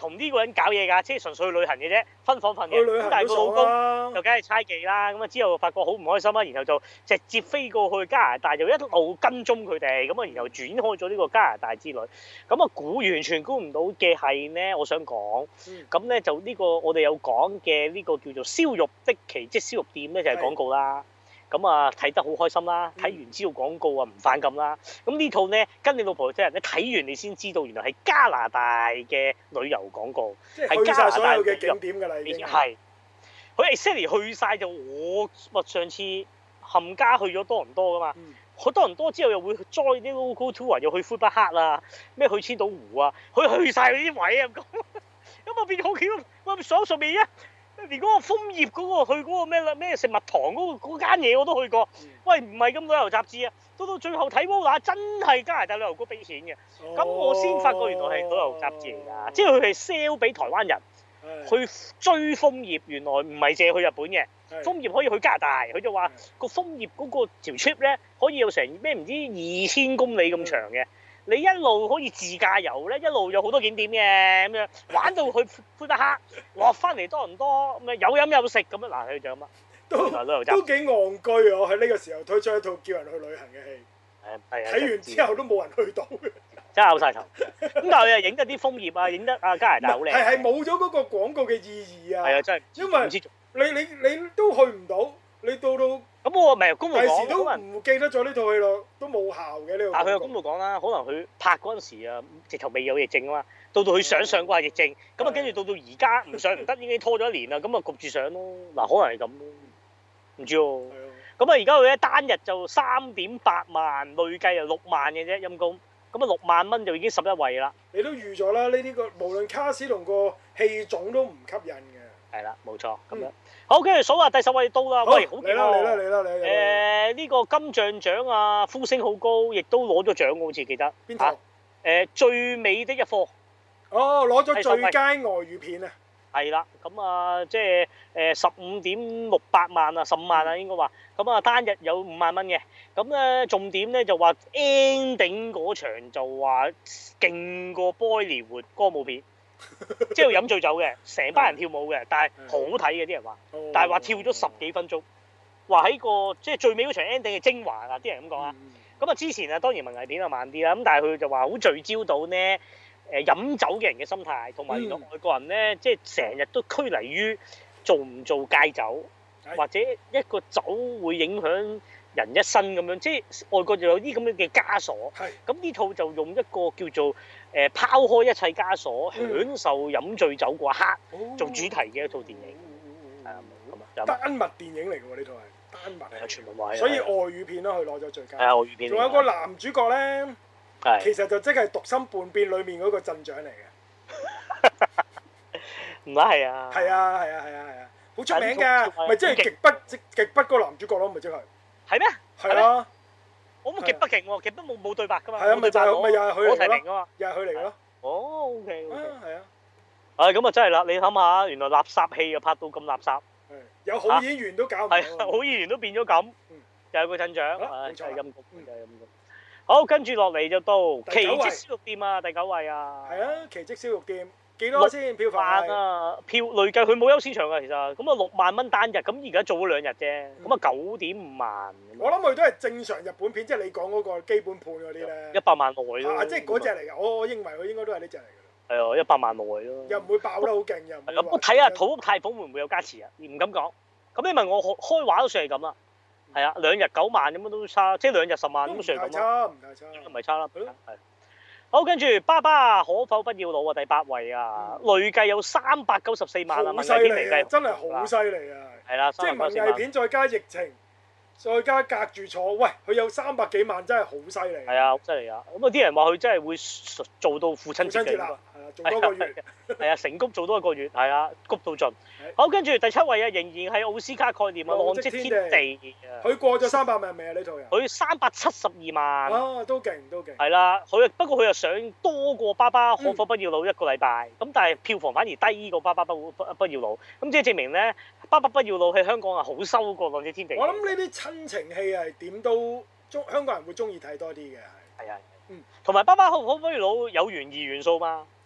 同呢個人搞嘢㗎，即係純粹去旅行嘅啫，分房瞓嘅。咁但係個老公就梗係猜忌啦，咁啊之後發覺好唔開心啦，然後就直接飛過去加拿大，就一路跟蹤佢哋，咁啊然後展開咗呢個加拿大之旅。咁啊估完全估唔到嘅係咧，我想講，咁咧就呢個我哋有講嘅呢個叫做燒肉的奇蹟燒肉店咧就係廣告啦。咁啊睇得好開心啦，睇完知道廣告啊唔反感啦。咁呢套咧跟你老婆即係你睇完你先知道原來係加拿大嘅旅遊廣告，係加拿大嘅景點㗎啦，已經係。佢 exactly 去晒就我我上次冚家去咗多倫多㗎嘛，去多倫多之後又會 join 啲 local tour 又去魁北克啊，咩去千島湖啊，佢去晒嗰啲位啊咁，咁啊變咗好巧，我爽順便啊！連嗰個楓葉嗰個去嗰個咩啦咩食物堂嗰個嗰間嘢我都去過，喂唔係咁旅遊雜誌啊，到到最後睇 Vola 真係加拿大旅遊局俾錢嘅，咁、哦、我先發覺原來係旅遊雜誌嚟㗎，即係佢係 sell 俾台灣人去追楓葉，原來唔係淨係去日本嘅，楓葉可以去加拿大，佢就話個楓葉嗰個條 trip 咧可以有成咩唔知二千公里咁長嘅。你一路可以自駕遊咧，一路有好多景點嘅咁樣，玩到去魁北克，落翻嚟多倫多，咁啊有飲有食咁樣，嗱佢就咁啊， 都都幾戇居啊！我喺呢個時候推出一套叫人去旅行嘅戲，係睇完之後都冇人去到嘅， 真係嘔晒頭。咁但係又影得啲楓葉啊，影得啊加拿大好靚， 係係冇咗嗰個廣告嘅意義啊！ 係啊，真係， 因為你你你都去唔到，你到到。 咁我咪公路講， 第時都唔記得咗呢套戲咯，都冇效嘅呢個。 但係佢有公路講啦，可能佢拍嗰陣時啊，直頭未有疫症啊嘛，到到佢想上嗰下疫症，咁啊跟住到到而家唔上唔得，已經拖咗一年啦，咁啊焗住上咯。嗱，可能係咁咯，唔知喎。咁啊而家佢咧單日就三點八萬，累計啊六萬嘅啫陰公，咁啊六萬蚊就已經十一位啦。 你都預咗啦，呢啲個無論卡士同個戲種都唔吸引嘅。係啦，冇錯，咁樣。好，跟住數下第十位到啦。喂，好勁喎！嚟啦嚟啦嚟啦！ 誒呢個金像獎啊，呼聲好高，亦都攞咗獎，好似記得。 邊套？ 誒最美的一課。 哦，攞咗最佳外語片啊！ 係啦，咁啊即係誒十五點六八萬啊，十五萬啊應該話。咁啊單日有五萬蚊嘅。咁咧重點咧就話 ending 嗰場就話勁過 Bollywood 歌舞片。即係飲醉酒嘅，成班人跳舞嘅，但係好睇嘅啲人話，但係話跳咗十幾分鐘，話喺個即係最尾嗰場 ending 嘅精華啊！啲人咁講啊，咁啊之前啊當然文藝片啊慢啲啦，咁但係佢就話好聚焦到呢誒飲酒嘅人嘅心態，同埋原來外國人咧即係成日都拘泥於做唔做戒酒，或者一個酒會影響人一生咁樣，即係外國就有啲咁樣嘅枷鎖。咁呢套就用一個叫做誒拋開一切枷鎖，享受飲醉酒嗰一刻做主題嘅一套電影。係啊，咁啊。 丹麥電影嚟嘅喎，呢套係丹麥。 係全部話。 所以外語片咯，佢攞咗最佳。 係啊，外語片。 仲有個男主角咧，其實就即係《獨身叛變》裡面嗰個鎮長嚟嘅。 唔係啊。 係啊係啊係啊係啊，好出名㗎，咪即係極北極極北嗰個男主角咯，咪即係。 係咩？ 係啊。 我冇極北勁喎，極北冇冇對白㗎嘛。 係啊，咪就係咪又係佢嚟㗎咯？又係佢嚟㗎咯。 哦，OK OK。 係啊。 誒咁啊真係啦，你諗下，原來垃圾戲又拍到咁垃圾。 有好演員都搞唔到。 係好演員都變咗咁。又係個鎮長，誒真係陰公，真係陰公。好，跟住落嚟就到奇蹟燒肉店啊，第九位啊。 係啊，奇蹟燒肉店幾多先票房？ 六萬啊，票累計佢冇優先場㗎，其實咁啊六萬蚊單日，咁而家做咗兩日啫，咁啊九點五萬。 我諗佢都係正常日本片，即係你講嗰個基本盤嗰啲咧。 一百萬內咯。 即係嗰隻嚟㗎，我我認為佢應該都係呢隻嚟㗎。 係啊，一百萬內咯。 又唔會爆得好勁，又唔會。 咁我睇下土屋太鳳會唔會有加持啊？唔敢講。咁你問我開畫都算係咁啦。係啊，兩日九萬咁樣都差，即係兩日十萬咁算係咁咯。唔太差，唔太差。應該唔係差啦。係。好，跟住爸爸可否不要老啊？第八位啊，累計有三百九十四萬啊！文藝片嚟計， 真係好犀利啊！ 係啦， 即係文藝片再加疫情，再加隔住坐，喂，佢有三百幾萬，真係好犀利。 係啊，好犀利啊！咁啊，啲人話佢真係會做到父親節嘅。係啊，做多個月。 係啊，成谷做多一個月，係啊，谷到盡。好，跟住第七位啊，仍然係奧斯卡概念啊，《浪跡天地》啊。 佢過咗三百萬未啊？呢套人。 佢三百七十二萬。 啊，都勁，都勁。 係啦，佢不過佢又上多過《爸爸可否不要老》一個禮拜，咁但係票房反而低過《爸爸不不不要老》，咁即係證明咧，《爸爸不要老》喺香港係好收過《浪跡天地》。 我諗呢啲親情戲係點都中香港人會中意睇多啲嘅。 係啊，嗯，同埋《爸爸可否不要老》有懸疑元素嘛。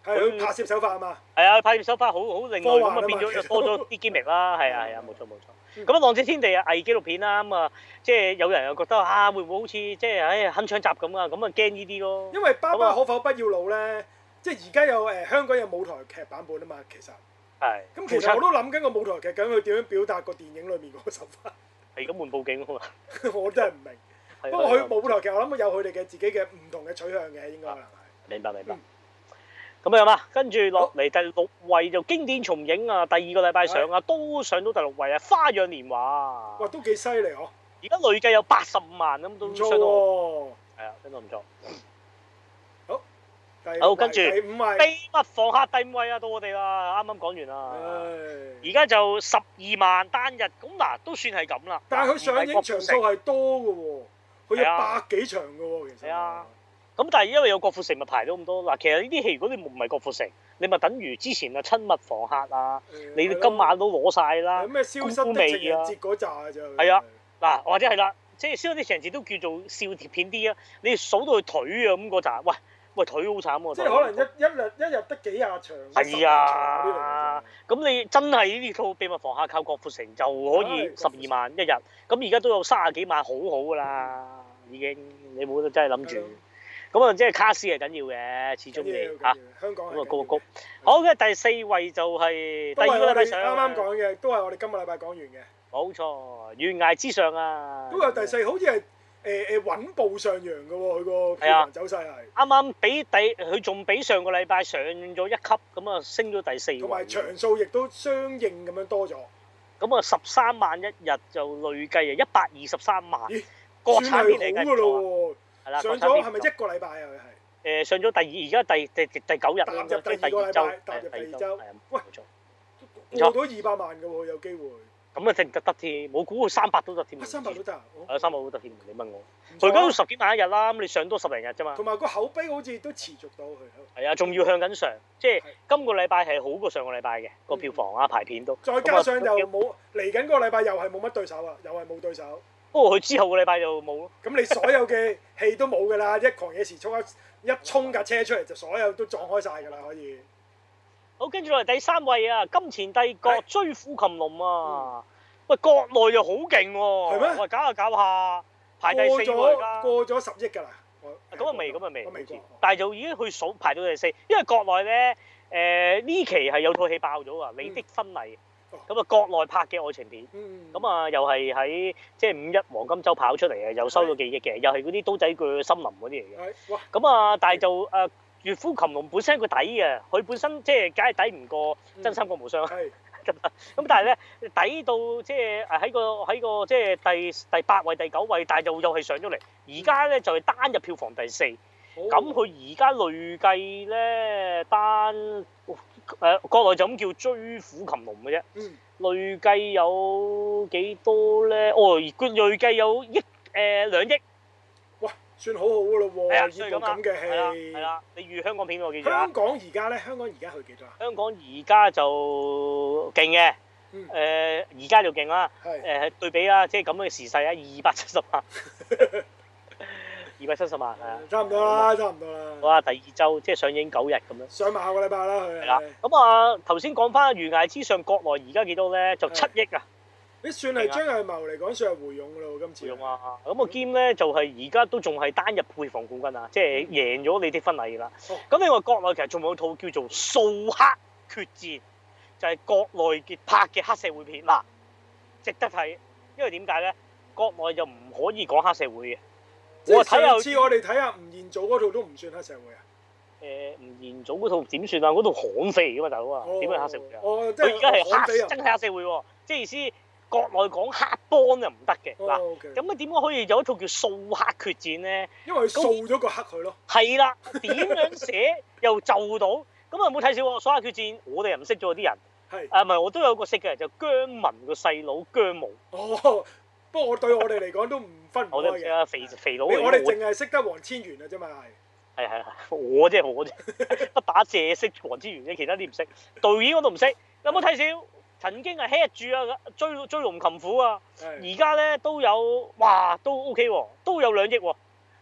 係佢拍攝手法啊嘛。 係啊，拍攝手法好好另類咁啊，變咗就多咗啲機密啦。係啊係啊，冇錯冇錯。咁啊，《浪跡天地》啊，偽紀錄片啦，咁啊，即係有人又覺得啊，會唔會好似即係唉鏗鏘集咁啊？咁啊驚呢啲咯。 因為《爸爸可否不要老》咧，即係而家有誒香港有舞台劇版本啊嘛，其實。係。咁其實我都諗緊個舞台劇，咁佢點樣表達個電影裏面嗰個手法？係咁換報警啊嘛！我真係唔明。不過佢舞台劇，我諗有佢哋嘅自己嘅唔同嘅取向嘅，應該可能係。明白明白。咁樣嘛，跟住落嚟第六位就經典重映啊，第二個禮拜上啊，都上到第六位啊，《花樣年華》。哇，都幾犀利嗬！而家累計有八十五萬咁，都相當。係啊，相當唔錯。好。好，跟住第五位。秘密房客第五位啊，到我哋啦，啱啱講完啦。而家就十二萬單日，咁嗱都算係咁啦。但係佢上映場數係多嘅喎，佢有百幾場嘅喎，其實。係啊。咁但係因為有郭富城咪排到咁多嗱，其實呢啲戲如果你唔係郭富城，你咪等於之前啊親密房客啊，你今晚都攞晒啦。咩消失的情人節嗰扎就係啊，嗱或者係啦，即係消失的情人節都叫做笑貼片啲啊，你數到佢腿啊咁嗰扎，喂喂腿好慘喎。即係可能一一日一日得幾廿場。係啊，咁你真係呢套秘密房客靠郭富城就可以十二萬一日，咁而家都有三十幾萬，好好㗎啦，已經你冇得真係諗住。咁啊，即係卡斯係緊要嘅，始終你嚇。香港咁啊，高高。好嘅，第四位就係第二個禮拜上。啱啱講嘅，都係我哋今個禮拜講完嘅。冇錯，懸崖之上啊。都有第四，好似係誒誒穩步上揚嘅喎，佢個票房走勢係。啱啱比第佢仲比上個禮拜上咗一級，咁啊升咗第四位。同埋場數亦都相應咁樣多咗。咁啊，十三萬一日就累計啊，一百二十三萬。咦？國產片嚟㗎咯。上咗係咪一個禮拜啊？佢係誒上咗第二，而家第第第九日，踏入第二個禮拜，踏入第二週。喂，冇錯，過到二百萬嘅喎，有機會。咁啊，得唔得得添？我估佢三百都得添。三百都得啊？係三百都得添，你問我。佢而家都十幾萬一日啦，咁你上多十零日啫嘛。同埋個口碑好似都持續到佢。係啊，仲要向緊上，即係今個禮拜係好過上個禮拜嘅個票房啊排片都。再加上又冇嚟緊嗰個禮拜又係冇乜對手啊，又係冇對手。不過佢之後個禮拜就冇咯。咁你所有嘅戲都冇㗎啦，一狂野時速一衝架車出嚟就所有都撞開晒㗎啦，可以。好，跟住落嚟第三位啊，《金錢帝國》追虎擒龍啊！喂，國內又好勁喎。係咩？喂，搞下搞下，排第四喎而家。過咗十億㗎啦。咁啊未，咁啊未。未過。但係就已經去數排到第四，因為國內咧誒呢期係有套戲爆咗啊，《你的婚禮》。咁啊，國內拍嘅愛情片，咁啊又係喺即係五一黃金週跑出嚟嘅，又收咗幾億嘅，又係嗰啲刀仔鋸森林嗰啲嚟嘅。咁啊，但係就誒《虎擒龍》本身個底嘅，佢本身即係梗係抵唔過《真三國無雙》。咁但係咧抵到即係誒喺個喺個即係第第八位、第九位，但係就又係上咗嚟。而家咧就係單日票房第四。咁佢而家累計咧單誒、呃、國內就咁叫追虎擒龍嘅啫，嗯、累計有幾多咧？哦，佢累計有億誒兩億，哇，算好好嘅咯喎！呢部咁嘅戲係啦，你預香港片我記住啦。香港而家咧，香港而家去幾多啊？香港而家就勁嘅，誒而家就勁啦，誒、呃、對比啦，即係咁嘅時勢啊，二百七十萬。二百七十萬係啊，差唔多啦，差唔多啦。哇！第二週即係上映九日咁樣。上埋下個禮拜啦，佢係啦。咁啊，頭先講翻《懸崖之上》，國內而家幾多咧？就七億啊！你算係張藝謀嚟講，算係回勇㗎咯，今次。回勇啊！咁啊兼咧就係而家都仲係單日票房冠軍啊，即係贏咗你的婚禮啦。咁另外國內其實仲有套叫做《掃黑決戰》，就係國內嘅拍嘅黑社會片嗱，值得睇。因為點解咧？國內就唔可以講黑社會嘅。即係上次我哋睇下吳彥祖嗰套都唔算黑社會啊。誒，吳彥祖嗰套點算啊？嗰套悍匪嚟㗎嘛，大佬啊，點係黑社會啊？哦，即係佢而家係黑，真係黑社會喎。即係意思，國內講黑幫就唔得嘅嗱。咁啊，點解可以有一套叫掃黑決戰咧？因為佢掃咗個黑佢咯。係啦，點樣寫又就到？咁啊，唔好睇少喎！掃黑決戰，我哋又唔識咗啲人。係。誒，唔係，我都有個識嘅，就姜文個細佬姜武。哦。不過我對我哋嚟講都唔分唔開嘅。我都唔識啊，肥肥佬。我哋淨係識得黃千源啊啫嘛，係。係係係，我啫我啫，不打借識黃千源啫，其他啲唔識。導演我都唔識。有冇睇少？曾經係 head 住啊，追追龍擒虎啊。而家咧都有，哇，都 OK 喎，都有兩億喎。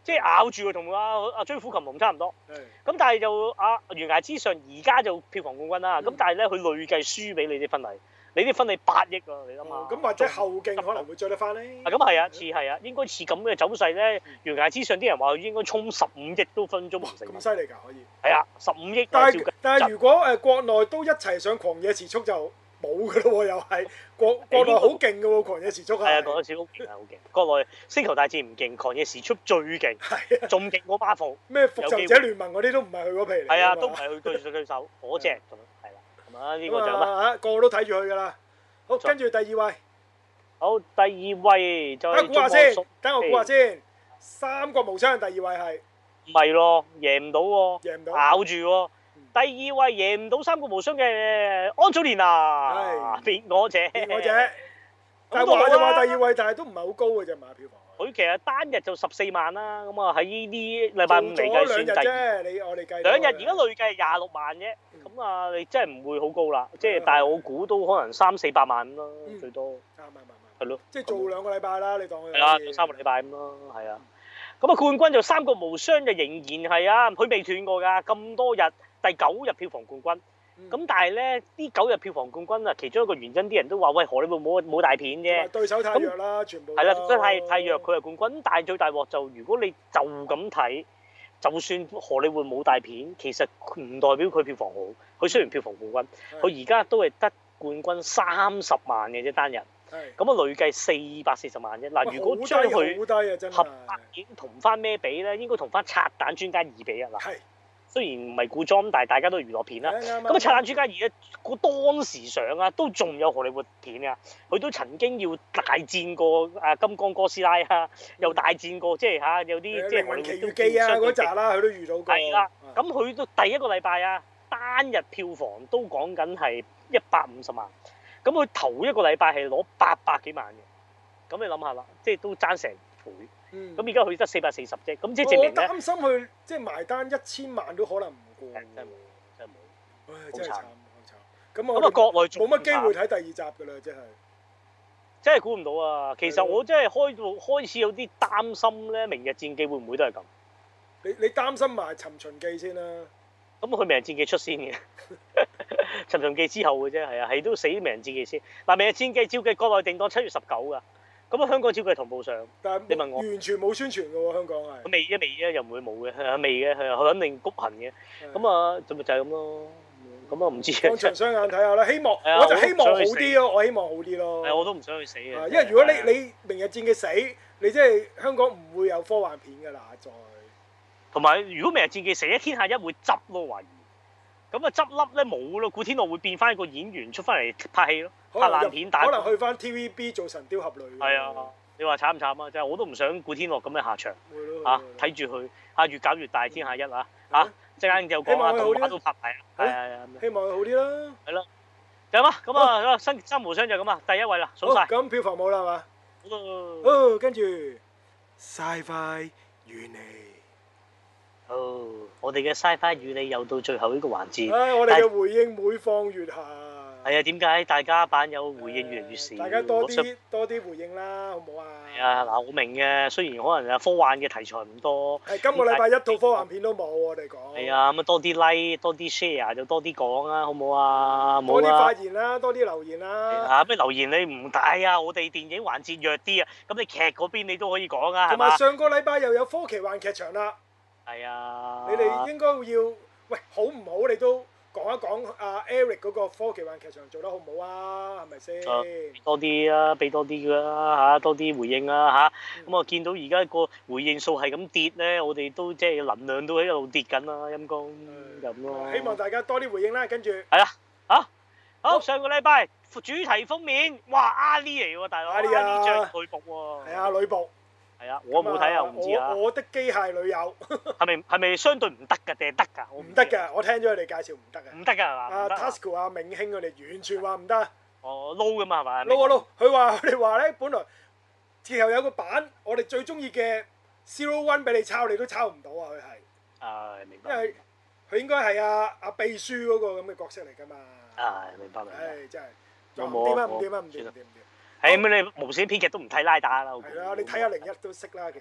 即係咬住同阿阿追虎擒龍差唔多。咁但係就阿懸崖之上而家就票房冠軍啦。咁但係咧佢累計輸俾你啲婚禮，你啲婚禮八億啊，你諗下。咁或者後勁可能會追得翻咧。 啊咁係啊，似係啊，應該似咁嘅走勢咧。懸崖之上啲人話佢應該衝十五億都分鐘唔成。咁犀利㗎，可以。 係啊，十五億。 但係但係如果誒國內都一齊上狂野時速就冇㗎咯喎，又係國國內好勁㗎喎，狂野時速係。係啊， 狂野時速好勁啊，好勁。國內星球大戰唔勁，狂野時速最勁。係啊。仲勁過 Marvel。 咩復仇者聯盟嗰啲都唔係佢嗰皮嚟。係啊，都唔係佢對對手嗰隻咁樣，係啦。咁啊，呢個就乜？ 啊，個個都睇住佢㗎啦。好，跟住第二位。 好，第二位就。 等我估下先，等我估下先。三國無雙第二位係。 唔係咯，贏唔到喎。 贏唔到。 咬住喎。第二位贏唔到三國無雙嘅安祖蓮啊，別我者。 別我者。但係話就話第二位，但係都唔係好高嘅啫嘛，票房。 佢其實單日就十四萬啦，咁啊喺呢啲禮拜五嚟計算第二。 你我哋計。 兩日而家累計係廿六萬啫，咁啊你真係唔會好高啦，即係但係我估都可能三四百萬咯，最多。啱啱啱。係咯。即係做兩個禮拜啦，你當佢。係啦，做三個禮拜咁咯，係啊。咁啊冠軍就三國無雙就仍然係啊，佢未斷過㗎，咁多日。第九日票房冠軍，咁、嗯、但係咧呢九日票房冠軍啊，其中一個原因啲人都話喂，荷里活冇冇大片啫， 對手太弱啦，全部係啦，真係太弱，佢係冠軍。但係最大鑊就如果你就咁睇，就算荷里活冇大片，其實唔代表佢票房好。佢雖然票房冠軍，佢而家都係得冠軍三十萬嘅啫單日，咁啊累計四百四十萬啫。嗱，如果將佢合拍片同翻咩比咧，應該同翻《拆彈專家二》比啊嗱。雖然唔係古裝，但係大家都係娛樂片啦。咁啊，《拆彈專家二》咧，個當時上啊，都仲有荷里活片啊。佢都曾經要大戰過啊金剛哥斯拉啊，又大戰過即係嚇有啲即係荷里活都奇遇記啊嗰集啦，佢都遇到過。 係啦，咁佢都第一個禮拜啊，單日票房都講緊係一百五十萬。咁佢頭一個禮拜係攞八百幾萬嘅。咁你諗下啦，即係都爭成倍。咁而家佢得四百四十啫，咁即係證明咧。我擔心佢即係埋單一千萬都可能唔過。 真係冇，真係冇。 唉，真係慘，好慘。咁我咁啊，國內冇乜機會睇第二集㗎啦，真係。 真係估唔到啊！其實我真係開到開始有啲擔心咧，《明日戰記》會唔會都係咁？ 你你擔心埋《尋秦記》先啦。 咁佢《明日戰記》出先嘅，《尋秦記》之後嘅啫，係啊，係都死《明日戰記》先。嗱，《明日戰記》照計國內定檔七月十九㗎。咁啊，香港照計同步上， 但係你問我完全冇宣傳嘅喎，香港係。 未嘅，未嘅，又唔會冇嘅，係未嘅，係佢肯定谷行嘅。咁啊，就咪就係咁咯。咁啊，唔知。放長雙眼睇下啦，希望我就希望好啲咯，我希望好啲咯。係， 我都唔想去死嘅。 因為如果你你明日戰記死，你即係香港唔會有科幻片㗎啦，再。 同埋，如果明日戰記死，一天下一會執咯，懷疑。咁啊，執笠咧冇咯，古天樂會變翻一個演員出翻嚟拍戲咯。拍爛片打， 可能去翻 T V B 做神雕俠侶。 係啊，你話慘唔慘啊？真係我都唔想古天樂咁嘅下場。嚇，睇住佢嚇越搞越大，天下一啊嚇！陣間就講啊，動畫都拍埋啊，係係係。 希望佢好啲啦。係咯，就咁啊！咁啊，新三無雙就咁啊，第一位啦，數曬。 咁票房冇啦係嘛？ 好啦。 哦，跟住 Sci-Fi 與你。 哦，我哋嘅 Sci-Fi 與你又到最後呢個環節。 唉，我哋嘅回應每況愈下。 係啊，點解大家版友回應越嚟越少？ 大家多啲多啲回應啦，好唔好啊？ 係啊，嗱，我明嘅，雖然可能啊科幻嘅題材唔多。 係今個禮拜一套科幻片都冇，我哋講。係啊，咁啊多啲 like，多啲 share 就多啲講啦，好唔好啊？ 多啲發言啦，多啲留言啦。 啊，咩留言你唔大啊？我哋電影環節弱啲啊，咁你劇嗰邊你都可以講啊，係嘛？ 同埋上個禮拜又有科奇幻劇場啦。 係啊。 你哋應該要喂好唔好？你都。講一講阿 Eric 嗰個科技幻劇場做得好唔好啊？係咪先？ 多啲啊，俾多啲㗎啦嚇，多啲回應啦嚇。咁啊，見到而家個回應數係咁跌咧，我哋都即係能量都喺度跌緊啦，陰公咁咯。 希望大家多啲回應啦，跟住係啊嚇好，上個禮拜主題封面，哇阿 Lee 嚟喎，大佬阿 Lee 着女僕喎。 係啊，女僕。 係啊，我冇睇啊，我唔知啊。 我的機械女友係咪係咪相對唔得㗎定係得㗎？ 唔得㗎，我聽咗佢哋介紹唔得㗎。 唔得㗎係嘛？ 阿 Tasuku 阿銘興佢哋完全話唔得。 哦，撈㗎嘛係咪？ 撈啊撈！佢話佢哋話咧，本來之後有個版，我哋最中意嘅 Zero One 俾你抄，你都抄唔到啊！佢係。誒，明白。因為佢應該係阿阿秘書嗰個咁嘅角色嚟㗎嘛。 誒，明白明白。 誒，真係。唔掂啊！唔掂啊！唔掂唔掂唔掂。 係咁你無線編劇都唔睇拉打啦。 係啦，你睇下零一都識啦，其實。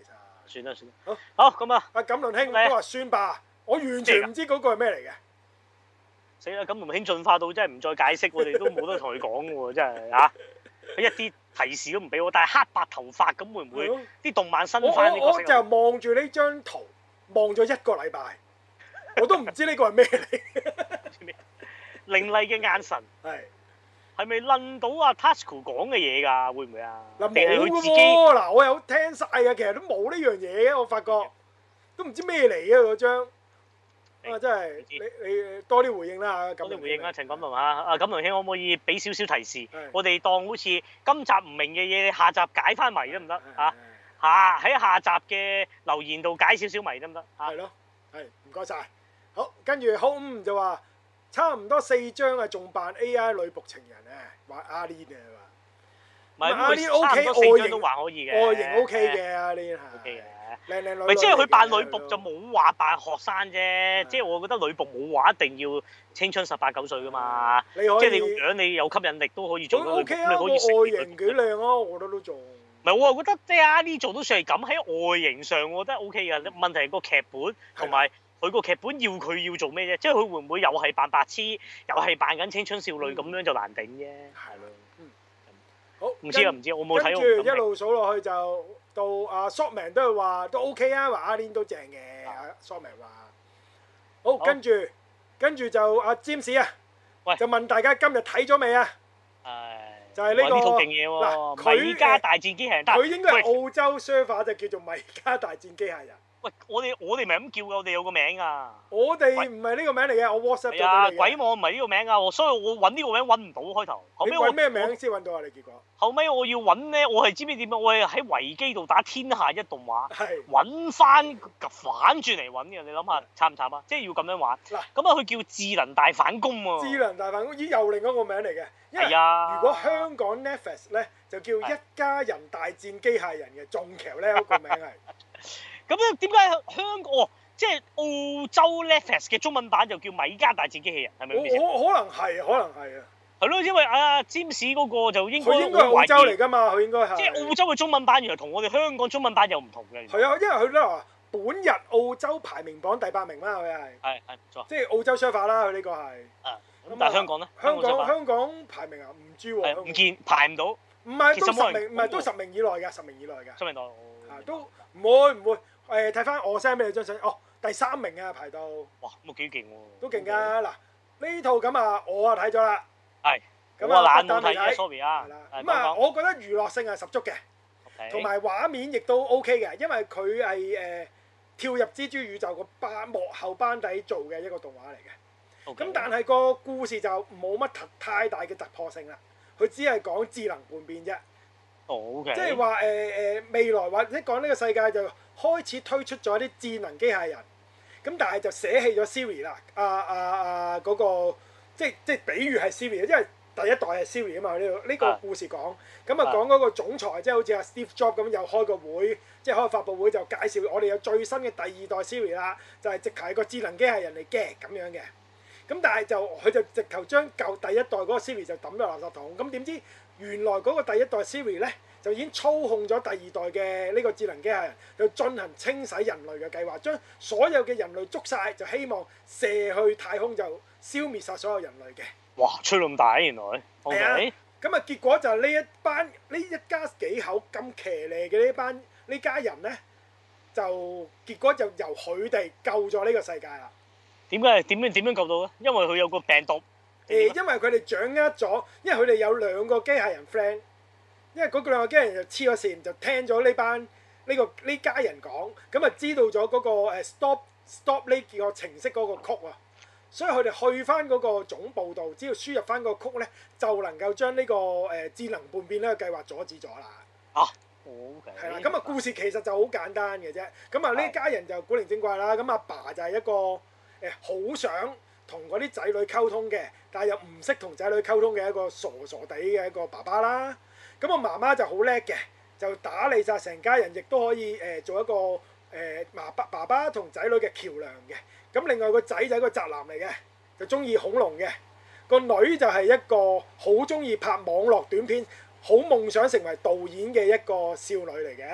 算啦算啦。 好， 好咁啊， 阿錦麟兄都話算吧，我完全唔知嗰個係咩嚟嘅。 死啦！錦麟兄進化到真係唔再解釋，我哋都冇得同佢講喎，真係嚇。佢一啲提示都唔俾我，但係黑白頭髮咁會唔會啲動漫新翻呢個？ 我我就望住呢張圖望咗一個禮拜，我都唔知呢個係咩嚟。 凌厲嘅眼神係係咪撚到阿 Tasuku 講嘅嘢㗎？會唔會啊？ 嗱冇嘅喎，嗱我有聽晒嘅，其實都冇呢樣嘢嘅，我發覺都唔知咩嚟嘅嗰張。啊！真係你你多啲回應啦， 多啲回應啦，陳錦麟啊！啊錦麟兄可唔可以俾少少提示？我哋當好似今集唔明嘅嘢，下集解翻謎得唔得嚇？嚇喺下集嘅留言度解少少謎得唔得？ 係咯，係唔該晒。好，跟住 Home 就話差唔多四張啊，仲扮 A I 女僕情人啊，話阿 Lin 啊嘛。唔係阿 Lin O K，外形都還可以嘅， 外形 O K 嘅阿 Lin 係。O K 嘅。靚靚女， 咪即係佢扮女僕就冇話扮學生啫，即係我覺得女僕冇話一定要青春十八九歲噶嘛，即係你個樣你有吸引力都可以做到女僕，你可以外形幾靚啊，我覺得都做。 唔係我係覺得即係阿 Lee 做到算係咁喺外形上，我覺得 O K 嘅。問題係個劇本同埋佢個劇本要佢要做咩啫？即係佢會唔會又係扮白痴，又係扮緊青春少女咁樣就難頂啫？係咯。 嗯。好。 唔知啊唔知，我冇睇。 跟住一路數落去就。到阿 Shotman 都係話都 OK 啊，話阿 Lin 都正嘅。阿 Shotman 話好，跟住跟住就阿 James 啊，就問大家今日睇咗未啊？ 係就係呢個套勁嘢喎。嗱，米家大戰機器人， 佢應該係澳洲 server 就叫做米家大戰機械人。 喂，我哋我哋咪咁叫㗎，我哋有個名啊。 我哋唔係呢個名嚟嘅，我 WhatsApp 咗俾你。係啊， 鬼網唔係呢個名啊，所以我揾呢個名揾唔到開頭。後尾我揾咩名先揾到啊？你結果？ 後尾我要揾咧，我係知唔知點啊？我係喺維基度打天下一動畫， 係揾翻反轉嚟揾嘅。你諗下慘唔慘啊？即係要咁樣玩。嗱，咁啊，佢叫智能大反攻喎。 智能大反攻，咦，又另一個名嚟嘅。係啊。 如果香港 Netflix 咧，就叫一家人大戰機械人嘅，仲橋咧個名係。 咁咧點解香港哦，即係澳洲 Netflix 嘅中文版就叫米家大戰機器人，係咪咁意思？ 可可能係，可能係啊。 係咯，因為阿占士嗰個就應該佢應該係澳洲嚟㗎嘛，佢應該係。即係澳洲嘅中文版原來同我哋香港中文版又唔同嘅。 係啊，因為佢咧話本日澳洲排名榜第八名啦，佢係。 係係唔錯。 即係澳洲 server 啦，佢呢個係。 啊，咁但係香港咧？ 香港香港排名啊，唔知喎。 唔見排唔到。 唔係都十名，唔係都十名以內㗎，十名以內㗎。 十名內。 啊，都唔會唔會。誒睇翻我 send 俾你張相，哦第三名啊排到， 哇咁啊幾勁喎， 都勁㗎嗱呢套咁啊我啊睇咗啦， 係， 咁啊不但未睇，sorry 啊， 係啦，咁啊我覺得娛樂性係十足嘅，同埋畫面亦都 OK 嘅，因為佢係誒跳入蜘蛛宇宙個班幕後班底做嘅一個動畫嚟嘅，咁但係個故事就冇乜太大嘅突破性啦，佢只係講智能叛變啫， 哦 OK， 即係話誒誒未來或者講呢個世界就。開始推出咗啲智能機械人，咁但係就捨棄咗 Siri 啦。啊啊啊嗰個即係即係比喻係 Siri，因為第一代係 Siri 啊嘛。呢度呢個故事講，咁啊講嗰個總裁，即係好似阿 Steve Jobs 咁，又開個會，即係開個發佈會就介紹我哋有最新嘅第二代 Siri 啦，就係直頭係個智能機械人嚟嘅咁樣嘅。咁但係就佢就直頭將舊第一代嗰個 Siri 就抌咗垃圾桶。咁點知原來嗰個第一代 Siri 咧？就已經操控咗第二代嘅呢個智能機械人，就進行清洗人類嘅計劃，將所有嘅人類捉晒，就希望射去太空就消滅晒所有人類嘅。 哇！吹咁大原來。 係啊。咁啊，結果就係呢一班呢一家幾口咁騎呢嘅呢班呢家人咧，就結果就由佢哋救咗呢個世界啦。 點解？點樣點樣救到咧？因為佢有個病毒。 誒，因為佢哋掌握咗，因為佢哋有兩個機械人 friend。因為嗰兩個機械人就黐咗線，就聽咗呢班呢個呢家人講，咁啊知道咗嗰個誒 stop stop 呢個程式嗰個曲啊，所以佢哋去翻嗰個總部度，只要輸入翻個曲咧，就能夠將呢個誒智能叛變呢個計劃阻止咗啦。 啊，OK。係啦， 咁啊故事其實就好簡單嘅啫。咁啊呢家人就古靈精怪啦。咁阿爸就係一個誒好想同嗰啲仔女溝通嘅，但係又唔識同仔女溝通嘅一個傻傻地嘅一個爸爸啦。咁我媽媽就好叻嘅，就打理晒成家人，亦都可以誒、呃、做一個誒媽爸爸爸同仔女嘅橋梁嘅。咁另外個仔就係一個宅男嚟嘅，就中意恐龍嘅。個女就係一個好中意拍網絡短片，好夢想成為導演嘅一個少女嚟嘅。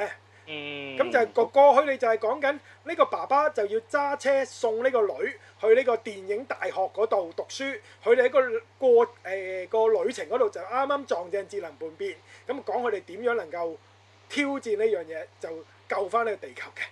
嗯。 咁就係個過去，你就係講緊呢個爸爸就要揸車送呢個女去呢個電影大學嗰度讀書，佢哋喺個過誒個旅程嗰度就啱啱撞正智能叛變，咁講佢哋點樣能夠挑戰呢樣嘢，就救翻呢個地球嘅。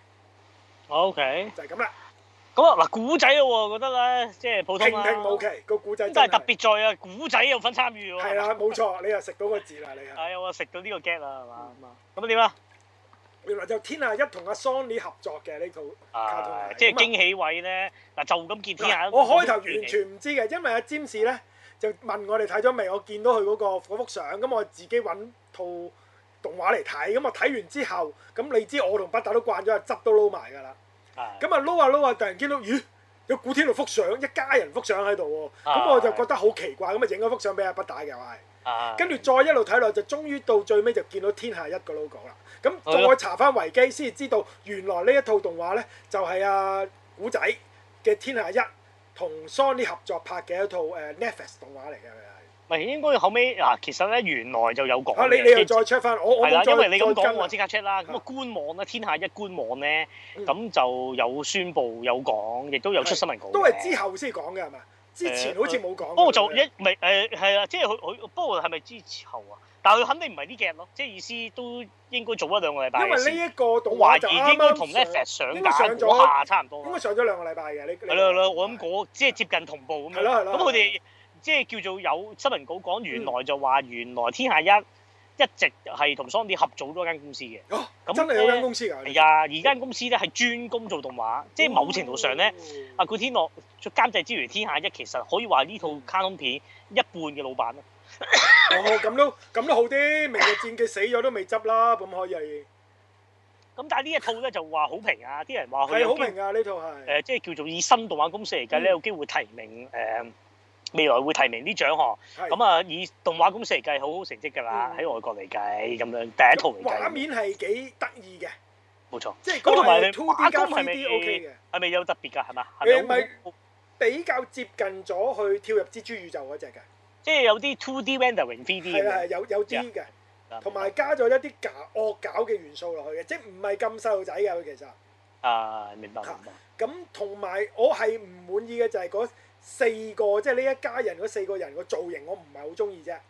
O K。 就係咁啦。 咁啊嗱，古仔咯喎，覺得咧，即係普通啦。 平平無奇個古仔。 但係特別在啊，古仔有份參與喎。 係啦，冇錯，你又食到個字啦，你係。 係啊，我食到呢個 get 啦，係嘛？咁啊點啊？ 原來就天下一同阿 Sony 合作嘅呢套卡通係，即係驚喜位咧。嗱，就咁見天下一。 我開頭完全唔知嘅，因為阿占士咧就問我哋睇咗未，我見到佢嗰個嗰幅相，咁我自己揾套動畫嚟睇，咁我睇完之後，咁你知我同北大都慣咗，汁都撈埋㗎啦。咁啊撈下撈下，突然見到咦有古天樂幅相，一家人幅相喺度喎，咁我就覺得好奇怪，咁啊影咗幅相俾阿北大嘅我係，跟住再一路睇落就終於到最尾就見到天下一個 logo 啦。咁再查翻維基先至知道，原來呢一套動畫咧就係阿古仔嘅天下一同 Sony 合作拍嘅一套誒 Netflix 動畫嚟嘅。 唔係應該後尾嗱，其實咧原來就有講嘅。 啊，你你又再 check 翻，我我冇再因為你咁講，我即刻 check 啦。咁啊官網咧，天下一官網咧，咁就有宣佈有講，亦都有出新聞稿。 都係之後先講嘅係嘛？之前好似冇講。 不過就一唔係誒係啊，即係佢佢不過係咪之後啊？但係佢肯定唔係呢幾日咯，即係意思都應該早一兩個禮拜。 因為呢一個動畫就啱啱同 Netflix 上架嗰下差唔多。 應該上咗兩個禮拜嘅呢。 係咯係咯，我諗嗰即係接近同步咁樣。 係咯係咯。 咁佢哋。即係叫做有新聞稿講，原來就話原來天下一一直係同 Sony 合組多間公司嘅。 哦，咁真係有間公司㗎？ 係啊，而間公司咧係專攻做動畫，即係某程度上咧，阿古天樂做監製之餘，天下一其實可以話呢套卡通片一半嘅老闆咯。 哦，咁都咁都好啲，明日戰記死咗都未執啦，咁可以。 咁但係呢一套咧就話好評啊！啲人話佢係好評啊！呢套係誒，即係叫做以新動畫公司嚟計咧，有機會提名誒。未來會提名啲獎項，咁啊以動畫公司嚟計，好好成績㗎啦。喺外國嚟計咁樣，第一套嚟計。 畫面係幾得意嘅， 冇錯。 即係嗰個係 two D 加 three D OK 嘅。 係咪有特別㗎？係嘛？ 誒咪比較接近咗去跳入蜘蛛宇宙嗰隻㗎。 即係有啲 two D rendering three D 係啊係有有啲嘅，同埋加咗一啲搞惡搞嘅元素落去嘅，即係唔係咁細路仔㗎佢其實。 啊，明白明白。 咁同埋我係唔滿意嘅就係嗰四個，即係呢一家人嗰四個人個造型，我唔係好中意啫。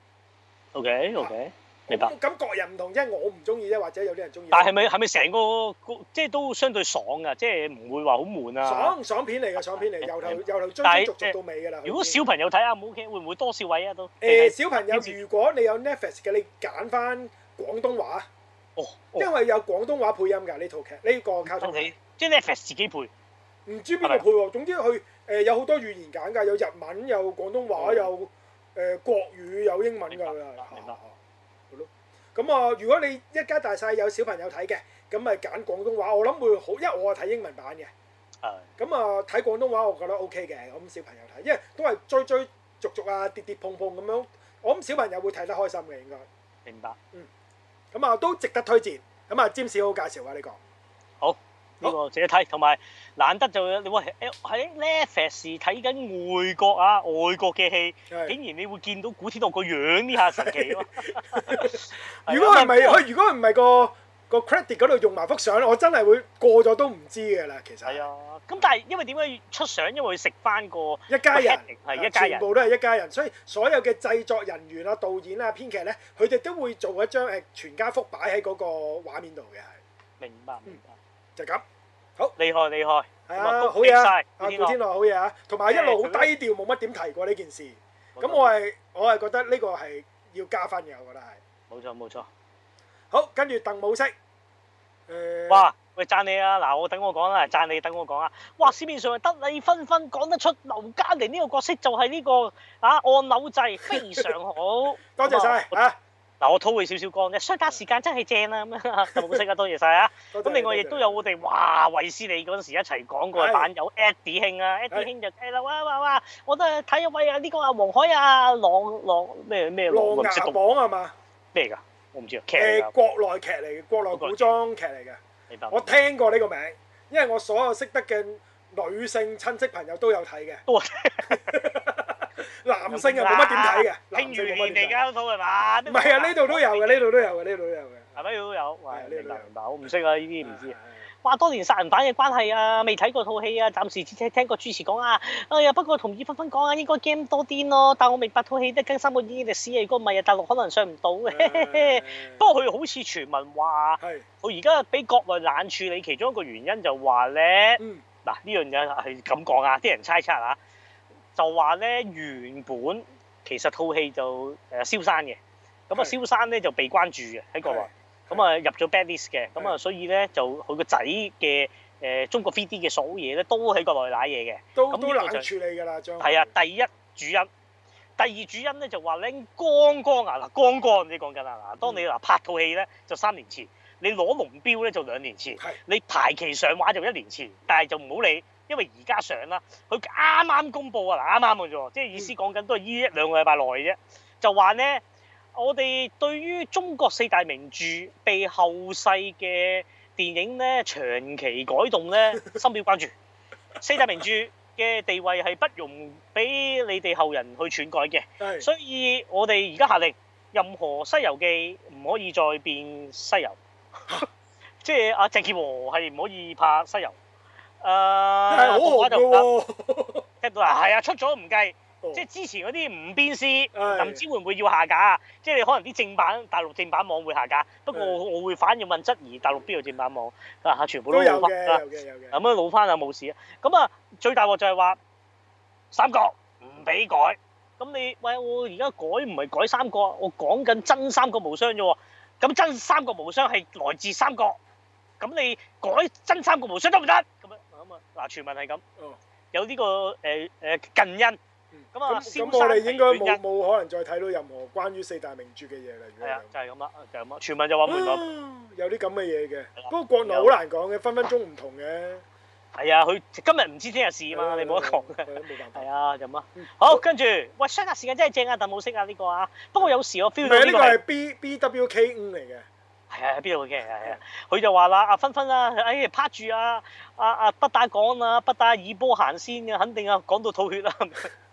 OK OK，明白。 咁各人唔同，即係我唔中意啫，或者有啲人中意。 但係咪係咪成個即係都相對爽㗎？即係唔會話好悶啊？ 爽爽片嚟㗎，爽片嚟，由頭由頭追追逐逐到尾㗎啦。 如果小朋友睇啊，唔 OK，會唔會多少位啊都？ 誒小朋友，如果你有 Netflix 嘅，你揀翻廣東話。 哦。 因為有廣東話配音㗎呢套劇，呢個卡通。 即係 Netflix 自己配。 唔知邊個配喎？總之佢誒有好多語言揀㗎，有日文，有廣東話，有誒國語，有英文㗎佢係。明白。係咯。咁啊，如果你一家大細有小朋友睇嘅，咁咪揀廣東話，我諗會好，因為我係睇英文版嘅。係。咁啊，睇廣東話我覺得 OK 嘅，咁小朋友睇，因為都係追追逐逐啊，跌跌碰碰咁樣，我諗小朋友會睇得開心嘅應該。明白。嗯。咁啊，都值得推薦。咁啊，占士好介紹啊呢個。好。呢個值得睇，同埋難得就你話喺 Netflix 睇緊外國啊外國嘅戲，竟然你會見到古天樂個樣呢下神奇咯！如果係咪佢？如果唔係個個 credit 嗰度用埋幅相，我真係會過咗都唔知㗎啦。其實係啊，咁但係因為點解要出相？因為佢食翻個一家人係一家人，全部都係一家人，所以所有嘅製作人員啊、導演啊、編劇咧，佢哋都會做一張誒全家福擺喺嗰個畫面度嘅。係明白，明白，就咁。好厲害厲害，係啊，好嘢啊！阿古天樂好嘢啊，同埋一路好低調，冇乜點提過呢件事。咁我係我係覺得呢個係要加分嘅，我覺得係。冇錯冇錯。好，跟住鄧武飾。誒。哇！喂，讚你啊！嗱，我等我講啦，讚你等我講啊！哇，市面上係得你紛紛講得出劉嘉玲呢個角色就係呢個啊按鈕掣非常好。多謝晒啊！嗱，我拖佢少少光啫，相隔時間真係正啦咁樣，鄧武飾啊，多謝晒啊！咁另外亦都有我哋哇衛斯理嗰陣時一齊講過嘅版友 Eddie 兄啊 ，Eddie 兄就誒啦哇哇哇，我都係睇一位啊呢個啊黃海啊狼狼咩咩狼牙榜係嘛？咩嚟㗎？我唔知啊。誒國內劇嚟嘅，國內古裝劇嚟嘅。明白。我聽過呢個名，因為我所有識得嘅女性親戚朋友都有睇嘅。都係。 男性又冇乜點睇嘅， 慶餘年嚟㗎嗰套係嘛？ 唔係啊，呢度都有嘅，呢度都有嘅，呢度都有嘅。 係咪都有？ 係明白明白，我唔識啊，呢啲唔知。話多年殺人犯嘅關係啊，未睇過套戲啊，暫時只聽聽過主持講啊。哎呀，不過同意芬芬講啊，應該 game 多啲咯。但我明白套戲得更三個演嘅歷史，如果唔係啊，大陸可能上唔到嘅。不過佢好似傳聞話，佢而家俾國內冷處理，其中一個原因就話咧，嗱呢、嗯、樣嘢係咁講啊，啲人猜測啊，就話咧原本其實套戲就誒蕭山嘅，咁啊蕭山咧就被關注嘅喺國內。咁啊入咗 bad list 嘅，咁啊所以咧就佢個仔嘅誒中國 three D 嘅所有嘢咧都喺國內揦嘢嘅， 都都冷處理㗎啦，將係啊，第一主因，第二主因咧就話咧剛剛啊嗱，剛剛你講緊啊嗱，當你嗱拍套戲咧就三年前，你攞龍標咧就兩年前，你排期上畫就一年前，但係就唔好理，因為而家上啦，佢啱啱公佈啊嗱，啱啱嘅啫，即係意思講緊都係依一兩個禮拜內嘅啫，就話咧。我哋對於中國四大名著被後世嘅電影咧長期改動咧深表關注。四大名著嘅地位係不容俾你哋後人去篡改嘅，所以我哋而家下令，任何《西遊記》唔可以再變西遊，即係阿鄭健和係唔可以拍《西遊》。誒，動畫就唔得，聽到啊，係啊，出咗唔計。即係之前嗰啲唔鞭屍，唔知會唔會要下架？即係你可能啲正版大陸正版網會下架，不過我會反而問質疑大陸邊有正版網啊？全部都老翻啦，咁樣老翻就冇事啊。咁啊，最大鑊就係話三國唔俾改。咁你喂我而家改唔係改三國，我講緊真三國無雙啫喎。咁真三國無雙係來自三國，咁你改真三國無雙得唔得？咁樣咁啊嗱，傳聞係咁，有呢個誒誒近因。咁啊，咁我哋應該冇冇可能再睇到任何關於四大名著嘅嘢啦。 係啊，就係咁啦，就係咁啦。傳聞就話門內有啲咁嘅嘢嘅，不過國內好難講嘅，分分鐘唔同嘅。 係啊，佢今日唔知聽日事啊嘛，你冇得講嘅。 冇辦法。 係啊，就咁啊。好，跟住喂，相隔時間真係正啊，但冇識啊呢個啊。不過有時我 feel 到呢個係 B B W K 五嚟嘅。 係啊，邊度嘅？係啊，佢就話啦，阿芬芬啊，哎拍住啊，阿阿不打講啊，不打以波行先嘅，肯定啊，講到吐血啦。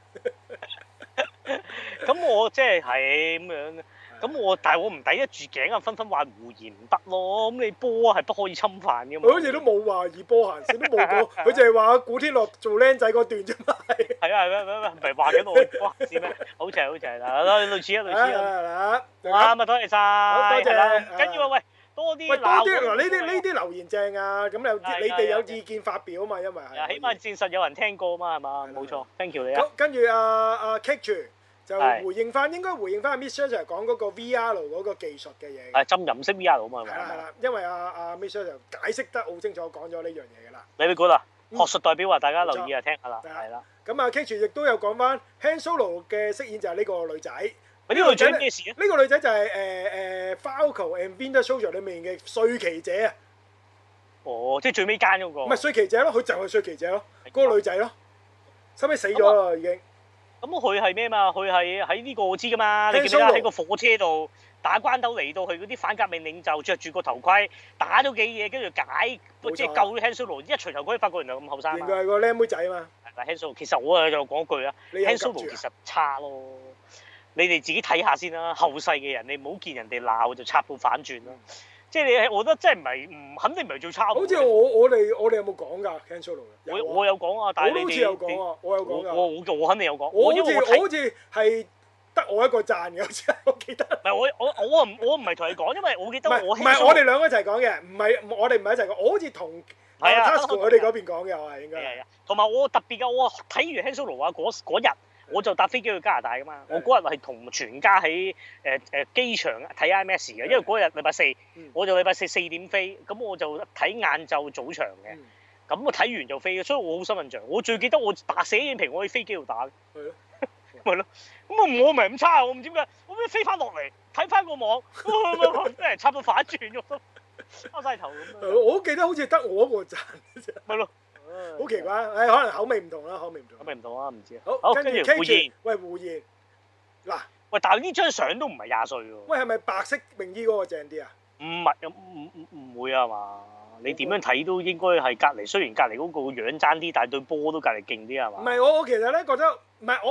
咁我即係係咁樣，咁我但係我唔抵得住頸啊！紛紛話胡言唔得咯，咁你波係不可以侵犯嘅嘛。 佢好似都冇話以波行先，都冇講，佢就係話古天樂做僆仔嗰段啫嘛。 係啊係咩咩咩，唔係話緊我以波行先咩？好似係好似係嗱，類似啊類似啊。啱啊，多謝晒，多謝。唔緊要啊，喂，多啲。喂，多啲嗱，呢啲呢啲留言正啊，咁有你哋有意見發表啊嘛，因為係。 起碼證實有人聽過啊嘛，係嘛？冇錯 ，thank you 你啊。 跟住阿阿 Kate 就回應翻，應該回應翻阿 Miss Sir 講嗰個 V R 嗰個技術嘅嘢。 係浸淫式 V R 啊嘛。 係啦係啦，因為阿阿 Miss Sir 就解釋得好清楚，講咗呢樣嘢㗎啦。 你會估啦，學術代表話大家留意啊，聽下啦。係啦。 咁啊 Kate 亦都有講翻 Han Solo 嘅飾演就係呢個女仔。 呢個女仔咩事啊？ 呢個女仔就係誒誒 Falcon and Winter Soldier 裡面嘅帥奇姐啊。 哦，即係最尾奸嗰個。 唔係帥奇姐咯，佢就係帥奇姐咯，嗰個女仔咯，收尾死咗啦已經。 咁佢係咩嘛？佢係喺呢個我知㗎嘛？你記唔記得喺個火車度打關鬥嚟到去嗰啲反革命領袖，着住個頭盔打咗幾嘢，跟住解即係救咗 Han Solo，一除頭盔發覺原來咁後生。 原來係個靚妹仔啊嘛。 嗱 Han Solo 其實我啊就講句啊 Han Solo 其實差咯。你哋自己睇下先啦，後世嘅人你唔好見人哋鬧就插到反轉啦。即係你，我覺得真係唔係唔肯定唔係最差。 好似我我哋我哋有冇講㗎 Han Solo？ 我我有講啊，但係你哋我好似有講啊，我有講㗎。 我我我肯定有講。 我好似我好似係得我一個讚嘅，好似我記得。 唔係我我我唔我唔係同你講，因為我記得我唔係我哋兩個一齊講嘅，唔係我哋唔係一齊講，我好似同阿 Tasuku 佢哋嗰邊講嘅，我係應該。係啊，同埋我特別嘅，我睇完 Han Solo 啊嗰嗰日。我就搭飛機去加拿大噶嘛，我嗰日係同全家喺誒誒機場睇 IMAX 嘅，因為嗰日禮拜四，我就禮拜四四點飛，咁我就睇晏晝早場嘅，咁我睇完就飛，所以我好深印象。我最記得我打寫影評，我喺飛機度打嘅，係咯，咪咯，咁啊我唔係咁差，我唔知點解，我咩飛翻落嚟睇翻個網，俾人插到反轉咗，拗晒頭咁。 我記得好似得我一個讚嘅啫， 咪咯。 好奇怪，誒可能口味唔同啦，口味唔同。 口味唔同啊，唔知啊。 好，跟住胡言， 喂胡言，嗱， 喂，但係呢張相都唔係廿歲喎。 喂，係咪白色泳衣嗰個正啲啊？ 唔係，唔唔唔會啊嘛？你點樣睇都應該係隔離，雖然隔離嗰個樣爭啲，但係對波都隔離勁啲係嘛？ 唔係，我我其實咧覺得，唔係我我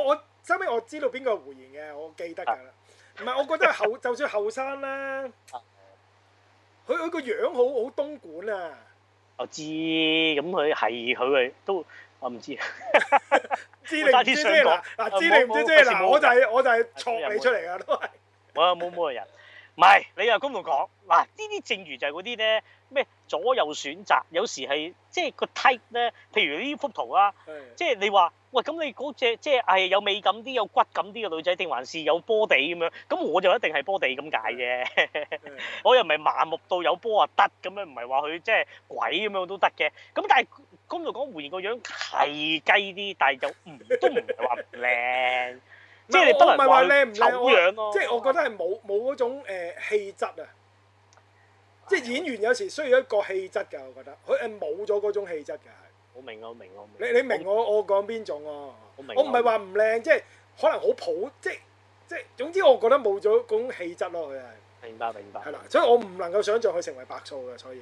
收尾我知道邊個係胡言嘅，我記得㗎啦。唔係，我覺得後就算後生啦，佢佢個樣好好東莞啊！ 我知，咁佢係佢係都我唔知。 知你唔知啫嗱嗱，知你唔知啫嗱，我就係我就係錯你出嚟㗎都係。 我冇冇個人，唔係你又咁度講嗱，呢啲正如就係嗰啲咧咩左右選擇，有時係即係個 type 咧，譬如呢幅圖啊，即係你話喂咁你嗰隻即係係有美感啲、有骨感啲嘅女仔，定還是有波地咁樣？咁我就一定係波地咁解啫。我又唔係麻木到有波啊得咁樣，唔係話佢即係鬼咁樣都得嘅。咁但係咁度講胡言個樣係雞啲，但係就唔都唔係話唔靚。即係你不能話靚唔醜樣咯， 即係我覺得係冇冇嗰種誒氣質啊！即係演員有時需要一個氣質㗎，我覺得佢誒冇咗嗰種氣質㗎，係。 我明啊，我明我明。你你明我我講邊種喎？ 我明。 我唔係話唔靚，即係可能好普，即係即係總之我覺得冇咗嗰種氣質咯，佢係。 明白明白。 係啦，所以我唔能夠想像佢成為白素嘅，所以係。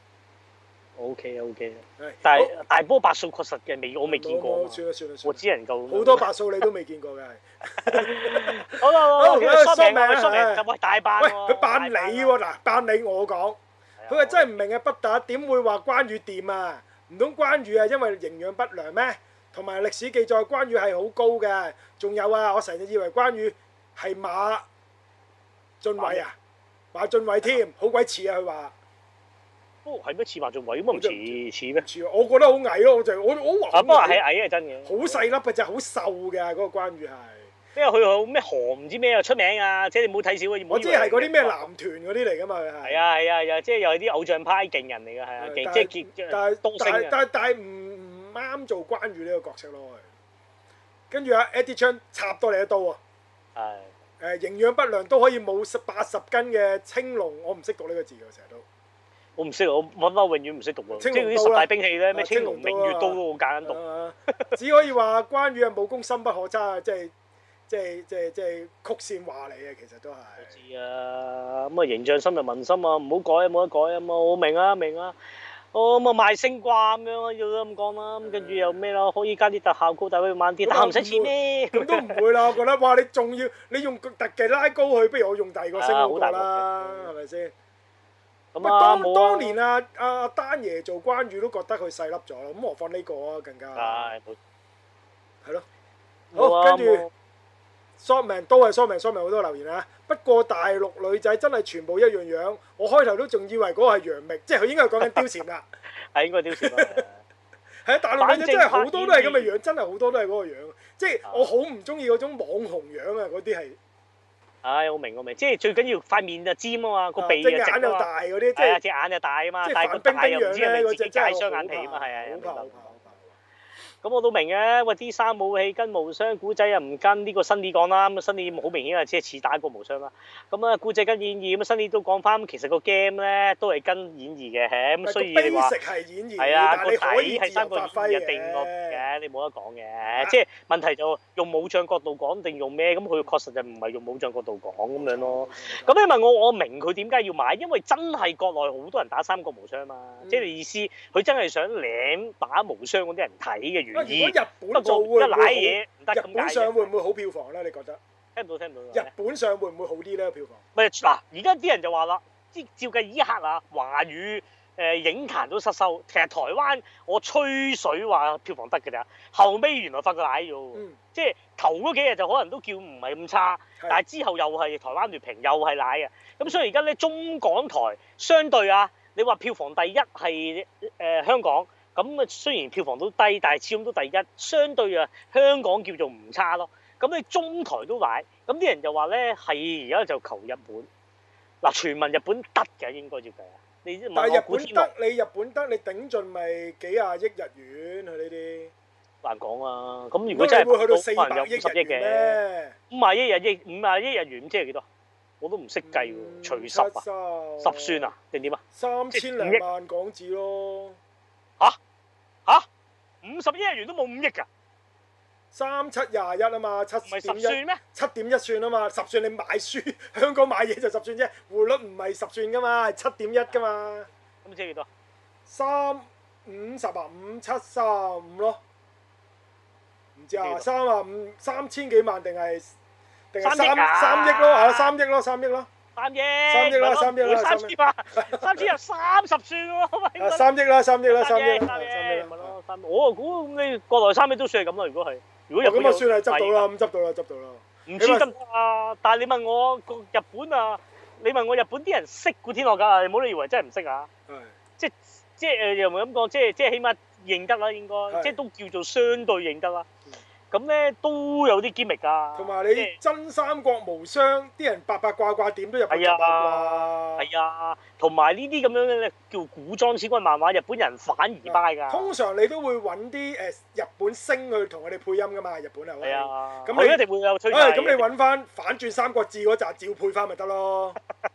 O K O K，但係大波白素確實嘅未，我未見過。 算啦算啦算啦。 我只能夠。 好多白素你都未見過嘅係。 好啦好啦，蘇明啊蘇明，就喂大扮喎。喂，佢扮你喎嗱，扮你我講，佢話真係唔明嘅不打，點會話關羽掂啊？唔通關羽係因為營養不良咩？同埋歷史記載關羽係好高嘅，仲有啊，我成日以為關羽係馬浚偉啊，馬浚偉添，好鬼似啊佢話。 哦，係咩似馬浚偉咁啊？唔似似咩？ 似啊！我覺得好矮咯，我就我我話。 不過係矮係真嘅。好細粒嘅就好瘦嘅嗰個關羽係。 因為佢好咩韓唔知咩啊出名啊，即係你唔好睇少啊！ 我知係嗰啲咩男團嗰啲嚟㗎嘛，佢係。係啊係啊係啊，即係又係啲偶像派勁人嚟㗎，係啊，勁即係結但係多星嘅。 但係但係唔唔啱做關羽呢個角色咯，跟住阿 Eddie Chan 插多你一刀啊！係。誒營養不良都可以冇十八十斤嘅青龍，我唔識讀呢個字㗎，成日都。 我唔識，我揾翻永遠唔識讀喎。即係嗰啲十大兵器咧，咩青龍明月刀都好簡單讀。 只可以話關羽嘅武功深不可測，即係即係即係即係曲線話嚟嘅，其實都係。 我知啊，咁啊形象深入民心啊，唔好改啊，冇得改啊嘛，我明啊明啊。哦咁啊賣星掛咁樣要咁講啦，咁跟住又咩咯？可以加啲特效高，但係慢啲，但係唔使錢咩？ 咁都唔會啦，我覺得哇！你仲要你用特技拉高佢，不如我用第二個星好過啦，係咪先？咁啊！當當年啊阿丹爺做關羽都覺得佢細粒咗，咁何況呢個啊更加係係咯。好，跟住 Shotman 都係 Shotman Shotman 好多留言啊！不過大陸女仔真係全部一樣樣，我開頭都仲以為嗰個係楊冪，即係佢應該係講緊貂蟬啦。 係應該貂蟬啊！ 係啊，大陸女仔真係好多都係咁嘅樣，真係好多都係嗰個樣。即係我好唔中意嗰種網紅樣啊！嗰啲係。唉， 我明我明，即係最緊要塊面就尖啊嘛，個鼻就直啊嘛。隻眼又大嗰啲，即係隻眼就大啊嘛，但係個大又唔知係咪自己戒雙眼皮啊嘛，係啊，明白。咁我都明嘅，喂啲衫武器跟無雙，古仔又唔跟，呢個新啲講啦，咁啊新啲好明顯係即係似打過無雙啦。咁啊古仔跟演義，咁啊新啲都講翻，其實個 game 咧都係跟演義嘅，咁所以你話係啊個底係三個演義定落嘅，你冇得講嘅。即係問題就用武將角度講定用咩？咁佢確實就唔係用武將角度講咁樣咯。咁你問我，我明佢點解要買，因為真係國內好多人打三國無雙嘛，即係你意思佢真係想舐打無雙嗰啲人睇嘅。 如果日本做會唔會好？日本上會唔會好票房咧？你覺得？ 聽唔到聽唔到。 日本上會唔會好啲咧？票房？ 咪嗱，而家啲人就話啦，即係照計依刻啊，華語誒影壇都失收。其實台灣我吹水話票房得㗎咋，後尾原來發覺賴咗喎。嗯、即係頭嗰幾日就可能都叫唔係咁差，是但係之後又係台灣劣評，又係賴啊。咁所以而家咧中港台相對啊，你話票房第一係誒、呃、香港。咁啊，雖然票房都低，但係始終都第一，相對啊香港叫做唔差咯。咁你中台都買，咁啲人就話咧係而家就求日本。嗱，傳聞日本得嘅應該照計啊。你但係日本得，你日本得，你頂盡咪幾廿億日元佢呢啲？難講啊！咁如果真係會去到四百億日元嘅，五萬億日億五萬億日元即係幾多？我都唔識計喎，除十啊，十算啊定點啊？ 三千零萬港紙咯。 嚇？嚇，五十億日元都冇五億㗎， 三七廿一啊嘛，七點一，七點一算啊嘛，十算你買書，香港買嘢就十算啫，匯率唔係十算噶嘛，係七點一噶嘛。 咁即係幾多？ 三五十啊，五七三五咯。 唔知啊，三啊五三千幾萬定係定係三三億啊三億咯，係咯，三億咯，三億咯。 三億， 三億啦，三億啦， 三千萬，三千有三十算喎。 啊，三億啦，三億啦，三億啦， 三億， 三億咪咯，三。我估咁你國內三億都算係咁啦，如果係，如果日本咁啊算係執到啦，咁執到啦，執到啦。 唔知得唔得啊？但係你問我個日本啊，你問我日本啲人識古天樂㗎，你唔好你以為真係唔識啊。 係。 即即誒又唔係咁講，即即起碼認得啦，應該，即都叫做相對認得啦。咁咧都有啲 gimmick 㗎， 同埋你真三國無雙，啲人八八卦卦點都入去八卦。 係啊，同埋呢啲咁樣嘅叫古裝千軍漫畫，日本人反而 buy 㗎。 通常你都會揾啲誒日本星去同佢哋配音㗎嘛，日本係。 係啊。 咁你一定會有吹。 誒，咁你揾翻反轉三國志嗰集照配翻咪得咯。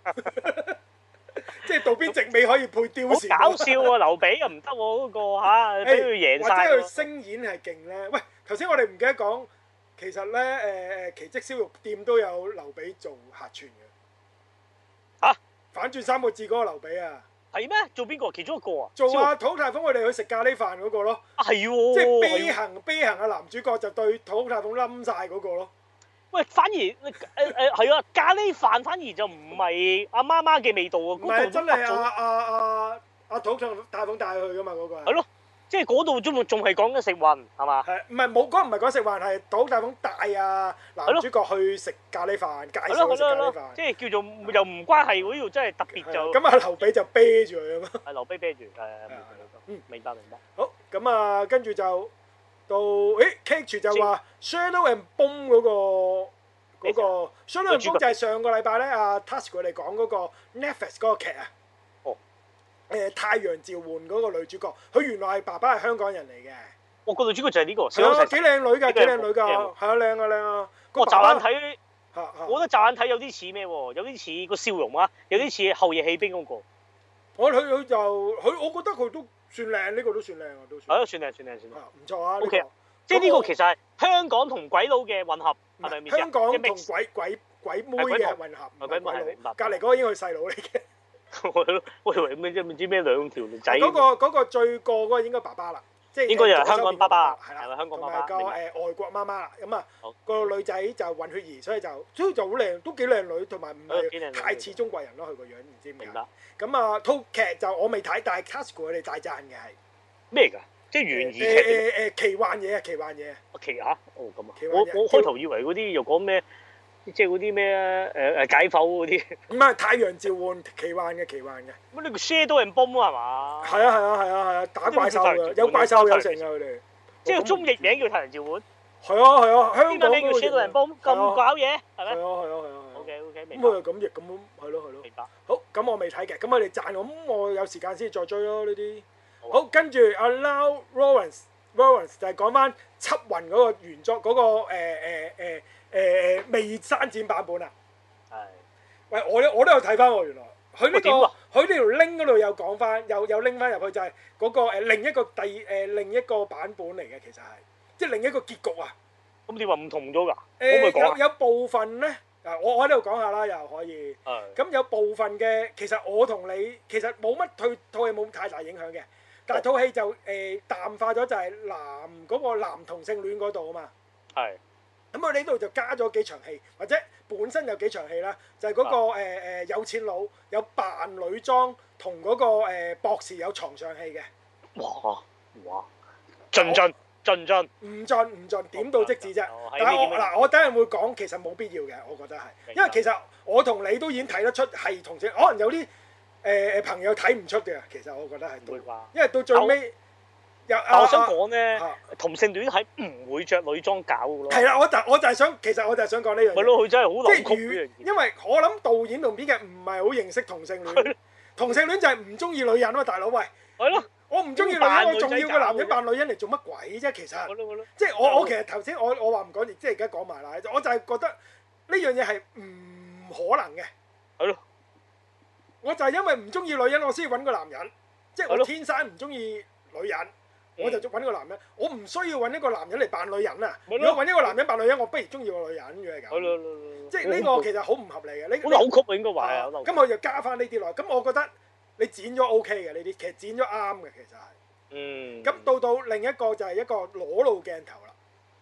即係渡邊直美可以配貂蟬。 好搞笑喎！劉備又唔得喎，嗰個嚇，俾佢贏晒。 或者佢聲演係勁咧？喂！頭先我哋唔記得講，其實咧誒誒奇蹟燒肉店都有劉備做客串嘅。嚇！反轉三個字嗰個劉備啊！ 係咩？做邊個？其中一個啊？ 做啊！土太鳳佢哋去食咖喱飯嗰個咯。 啊係喎！ 即係悲行悲行嘅男主角就對土太鳳冧晒嗰個咯。 喂，反而誒誒係啊！咖喱飯反而就唔係阿媽媽嘅味道喎。 唔係真係阿阿阿阿土太鳳帶去噶嘛嗰個。係咯。即係嗰度仲仲係講緊食運係嘛？ 係唔係冇嗰唔係講食運係土大鳳帶啊男主角去食咖喱飯，介紹佢食咖喱飯。 即係叫做又唔關係喎，呢度真係特別就。 咁啊，劉備就啤住佢啊嘛。 係劉備啤住，係嗯明白明白。 好咁啊，跟住就到誒 Cage 就話 Shadow and Bone 嗰個嗰個 Shadow and Bone 就係上個禮拜咧阿 Tasuku 佢哋講嗰個 Netflix 嗰個劇啊。誒太陽召喚嗰個女主角，佢原來係爸爸係香港人嚟嘅。 我個女主角就係呢個。 係啊，幾靚女㗎，幾靚女㗎，係啊，靚啊靚啊。 我驟眼睇，我覺得驟眼睇有啲似咩喎？有啲似個笑容啊，有啲似後夜棄兵嗰個。 我佢佢就佢，我覺得佢都算靚，呢個都算靚啊，都算。 係咯，算靚算靚算靚。 唔錯啊。 O K，即係呢個其實係香港同鬼佬嘅混合，係咪？ 香港同鬼鬼鬼妹嘅混合。 鬼妹係明白。 隔離嗰個應該係細佬嚟嘅。 我以為咩啫？唔知咩兩條仔。 嗰個嗰個最過嗰個應該爸爸啦，即係應該就係香港爸爸， 係啦， 香港爸爸。 同埋個誒外國媽媽，咁啊個女仔就混血兒，所以就所以就好靚，都幾靚女，同埋唔係太似中國人咯，佢個樣唔知點解。明白。咁啊套劇就我未睇，但係 Tasuku 佢哋大讚嘅係咩㗎？即係懸疑劇。 誒誒誒奇幻嘢啊！奇幻嘢。 奇嚇？哦咁啊！我我開頭以為嗰啲又講咩？即係嗰啲咩誒誒解剖嗰啲， 唔係太陽召喚奇幻嘅奇幻嘅。 乜呢個 Shadow and Bone 係嘛？ 係啊係啊係啊係啊，打怪獸㗎，有怪獸有成㗎佢哋。 即係中譯名叫太陽召喚。 係啊係啊，香港名叫 Shadow and Bone 咁搞嘢係咩？ 係啊係啊係啊。 OK OK 明白。咁啊咁譯咁係咯係咯。 明白。 好，咁我未睇嘅，咁我哋賺，咁我有時間先再追咯呢啲。好，跟住阿 Lau Lawrence Lawrence 就係講翻緝魂嗰個原作嗰個誒誒誒。誒誒未刪剪版本啊！係，喂，我我都有睇翻喎，原來佢呢個佢呢條 link 嗰度有講翻，有有拎翻入去就係嗰個誒另一個第誒另一個版本嚟嘅，其實係即係另一個結局啊！ 咁你話唔同咗㗎？ 誒有有部分咧，啊我我喺度講下啦，又可以。係。咁有部分嘅其實我同你其實冇乜對套戲冇太大影響嘅，但係套戲就誒淡化咗，就係男嗰個男同性戀嗰度啊嘛。係。咁我呢度就加咗幾場戲，或者本身有幾場戲啦，就係嗰個誒誒有錢佬有扮女裝同嗰個誒博士有床上戲嘅。哇哇！盡盡盡盡。唔盡唔盡，點到即止啫。但係我嗱，我等陣會講，其實冇必要嘅，我覺得係，因為其實我同你都已經睇得出係同性，可能有啲誒誒朋友睇唔出嘅，其實我覺得係。唔會啩？因為到最尾。但我想講咧，同性戀係唔會着女裝搞嘅咯。係啦，我就我就係想，其實我就係想講呢樣嘢。咪咯，佢真係好扭曲。因為我諗導演同編劇唔係好認識同性戀。同性戀就係唔中意女人啊嘛，大佬喂。係咯。我唔中意女人，我仲要個男人扮女人嚟做乜鬼啫？其實。即係我我其實頭先我我話唔講，即係而家講埋啦。我就係覺得呢樣嘢係唔可能嘅。係咯。我就係因為唔中意女人，我先要揾個男人。即係我天生唔中意女人。我就揾個男人，我唔需要揾一個男人嚟扮女人啊！如果揾一個男人扮女人，我不如中意個女人嘅咁。即係呢個其實好唔合理嘅。呢好扭曲應該話係。咁我就加翻呢啲落，咁我覺得你剪咗 O K 嘅呢啲，其實剪咗啱嘅其實係。嗯。咁到到另一個就係一個裸露鏡頭啦。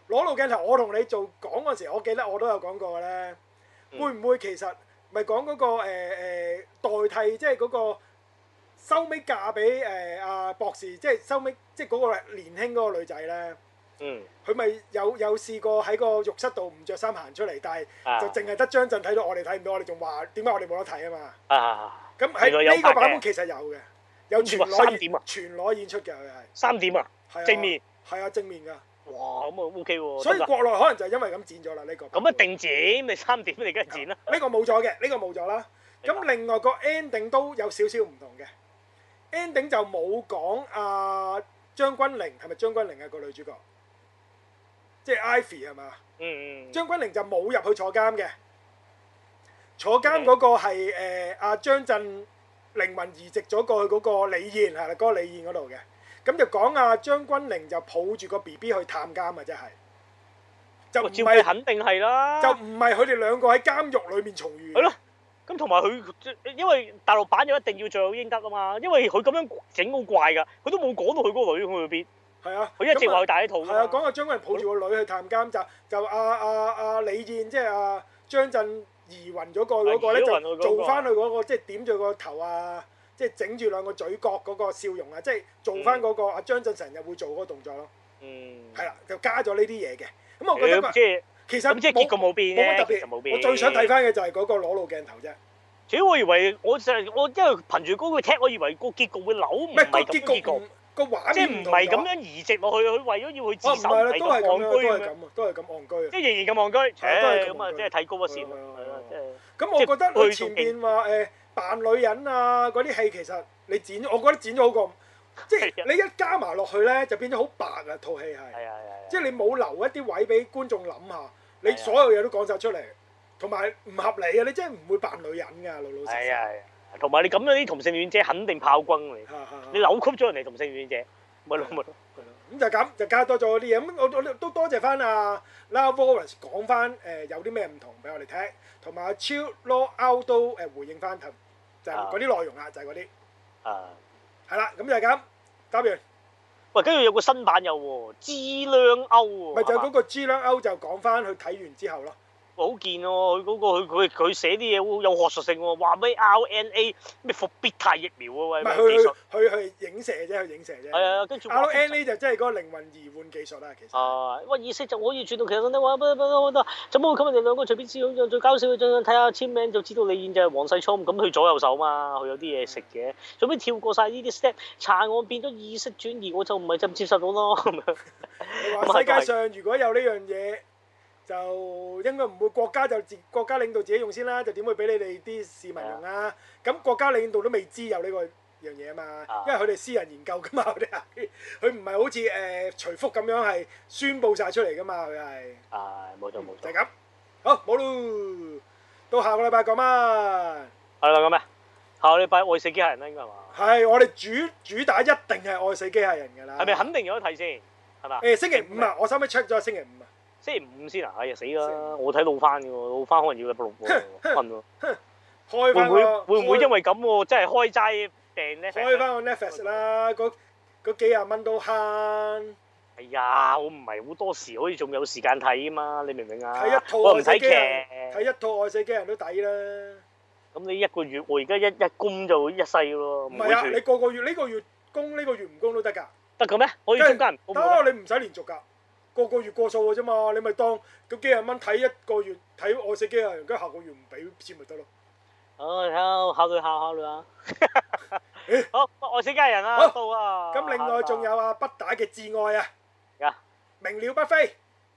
裸露鏡頭，我同你做講嗰陣時，我記得我都有講過嘅咧。嗯、會唔會其實咪講嗰個誒、呃、代替，即係嗰個收尾嫁俾誒阿博士，即係收尾即係嗰個年輕嗰個女仔咧？嗯。佢咪有有試過喺個浴室度唔着衫行出嚟，但係就淨係得張震睇到，我哋睇唔到，我哋仲話點解我哋冇得睇啊嘛？啊！咁喺呢個版本其實有嘅，有全裸演全裸演出嘅佢係。三點啊！正面。係啊，正面㗎。哇，咁啊 OK 喎。所以國內可能就係因為咁剪咗啦呢個。咁一定剪，你三點你梗係剪啦。呢個冇咗嘅，呢個冇咗啦。咁另外個 ending 都有少少唔同嘅 ending 就冇講阿張君玲係咪張君玲啊個女主角，即係 Ivy 係嘛？嗯嗯。張君玲就冇入去坐監嘅，坐監嗰個係誒阿張震靈魂移植咗過去嗰個李燕係啦，嗰個李燕嗰度嘅。咁就講啊，張君玲就抱住個 B B 去探監啊，真係就唔係肯定係啦，就唔係佢哋兩個喺監獄裏面重遇。係咯，咁同埋佢因為大陸版就一定要罪有應得啊嘛，因為佢咁樣整好怪㗎，佢都冇講到佢嗰個女去邊。係啊，佢一直話佢大一肚。係啊，講阿張君玲抱住個女去探監，就就阿阿阿李燕即係阿張震移魂咗個嗰個咧，就做翻佢嗰個即係點住個頭啊！即係整住兩個嘴角嗰個笑容啊！即係做翻嗰個阿張震成日會做嗰個動作咯。嗯。係啦，就加咗呢啲嘢嘅。咁我覺得即係其實即係結局冇變嘅，其實冇變。我最想睇翻嘅就係嗰個裸露鏡頭啫。主要我以為我就係我因為憑住嗰個踢，我以為個結局會扭，唔係個結局個畫面即係唔係咁樣移植落去，佢為咗要去自首，係咁戇居咁樣。都係咁戇居。即係仍然咁戇居。係都係咁啊！即係睇高一線。係啦，即係。咁我覺得佢前面話誒。扮女人啊！嗰啲戲其實你剪，我覺得剪咗好過，即係你一加埋落去咧，就變咗好白啊！套戲係，即係你冇留一啲位俾觀眾諗下，你所有嘢都講晒出嚟，同埋唔合理啊！你真係唔會扮女人㗎，老老實實。係啊係啊，同埋你咁樣啲同性戀者肯定炮轟你，你扭曲咗人哋同性戀者，咪咯咪咯。咁就咁就加多咗啲嘢，咁我我都多謝翻阿 Lara Wallace 講翻誒有啲咩唔同俾我哋聽，同埋阿 Chill Law Out 都誒回應翻頭。就係嗰啲內容啦，就係嗰啲。啊。係啦，咁就係咁，答完。喂，跟住有個新版有喎，知兩歐喎。咪就係嗰個知兩歐就講翻佢睇完之後咯。好見喎，佢嗰個佢佢佢寫啲嘢好有學術性喎，話咩 R N A 咩復必泰疫苗啊喂。唔係佢佢佢影射啫，佢影射啫。係啊，跟住 R N A 就即係嗰個靈魂移換技術啦，其實。啊，喂，意識就可以轉到其實你話乜乜乜乜，怎麼會咁？佢哋兩個隨便試用，最搞笑嘅就睇下簽名就知道李燕就係黃世聰，咁佢左右手嘛，佢有啲嘢食嘅，做咩跳過晒呢啲 step？查案變咗意識轉移，我就唔係咁接受到咯。咁樣。你話世界上如果有呢樣嘢？就應該唔會國家就自國家領導自己用先啦，就點會俾你哋啲市民用啊？咁國家領導都未知有呢個樣嘢啊嘛，因為佢哋私人研究噶嘛，佢哋係佢唔係好似誒徐福咁樣係宣佈晒出嚟噶嘛，佢係。係冇錯冇錯。就係咁，好冇咯，到下個禮拜講乜？係啦咁咩？下個禮拜愛死機械人啦，應該係嘛？係我哋主主打一定係愛死機械人㗎啦。係咪肯定有得睇先？係嘛？誒星期五啊，我收尾 check 咗星期五啊。星期五先啊！哎呀死啦！我睇老翻嘅喎，老翻可能要禮拜六喎，瞓喎。開翻個會唔會會唔會因為咁喎？真係開齋訂 Netflix。開翻個 Netflix 啦，嗰嗰幾廿蚊都慳。哎呀，我唔係好多時可以仲有時間睇啊嘛，你明唔明啊？睇一套愛死機人，睇一套愛死機人都抵啦。咁你一個月我而家一一供就一世咯。唔係啊！你個個月呢個月供呢個月唔供都得㗎。得嘅咩？可以中間。得，你唔使連續㗎。個個月過數嘅啫嘛，你咪當嗰幾廿蚊睇一個月睇愛死機械人，跟住下個月唔俾錢咪得咯。哦，睇下考慮下考慮下。好，愛死機械人啊，到啊。咁另外仲有啊，不打嘅至愛啊。呀。鳴鳥不飛。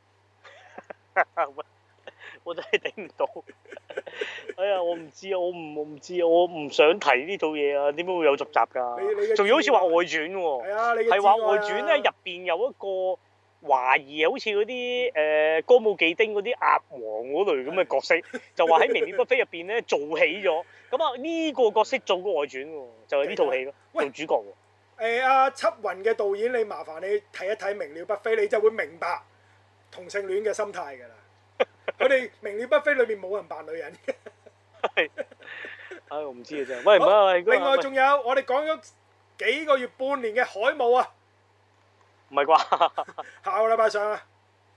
我真係頂唔到。哎呀，我唔知啊，我唔我唔知啊，我唔想提呢套嘢啊，點解會有續集㗎？仲要好似話外傳喎。係啊，你嘅至愛啊。係話外傳咧，入邊有一個。懷疑好似嗰啲誒歌舞伎町嗰啲鴨王嗰類咁嘅角色，就話喺《鳴鳥不飛》入邊咧做起咗，咁啊呢個角色做個外傳喎，就係呢套戲咯，做主角喎。誒阿輯雲嘅導演，你麻煩你睇一睇《鳴鳥不飛》，你就會明白同性戀嘅心態㗎啦。佢哋《鳴鳥不飛》裏面冇人扮女人嘅。係。唉，我唔知啊真係。喂唔好，另外仲有我哋講咗幾個月、半年嘅海霧啊。唔係啩？下個禮拜上啊！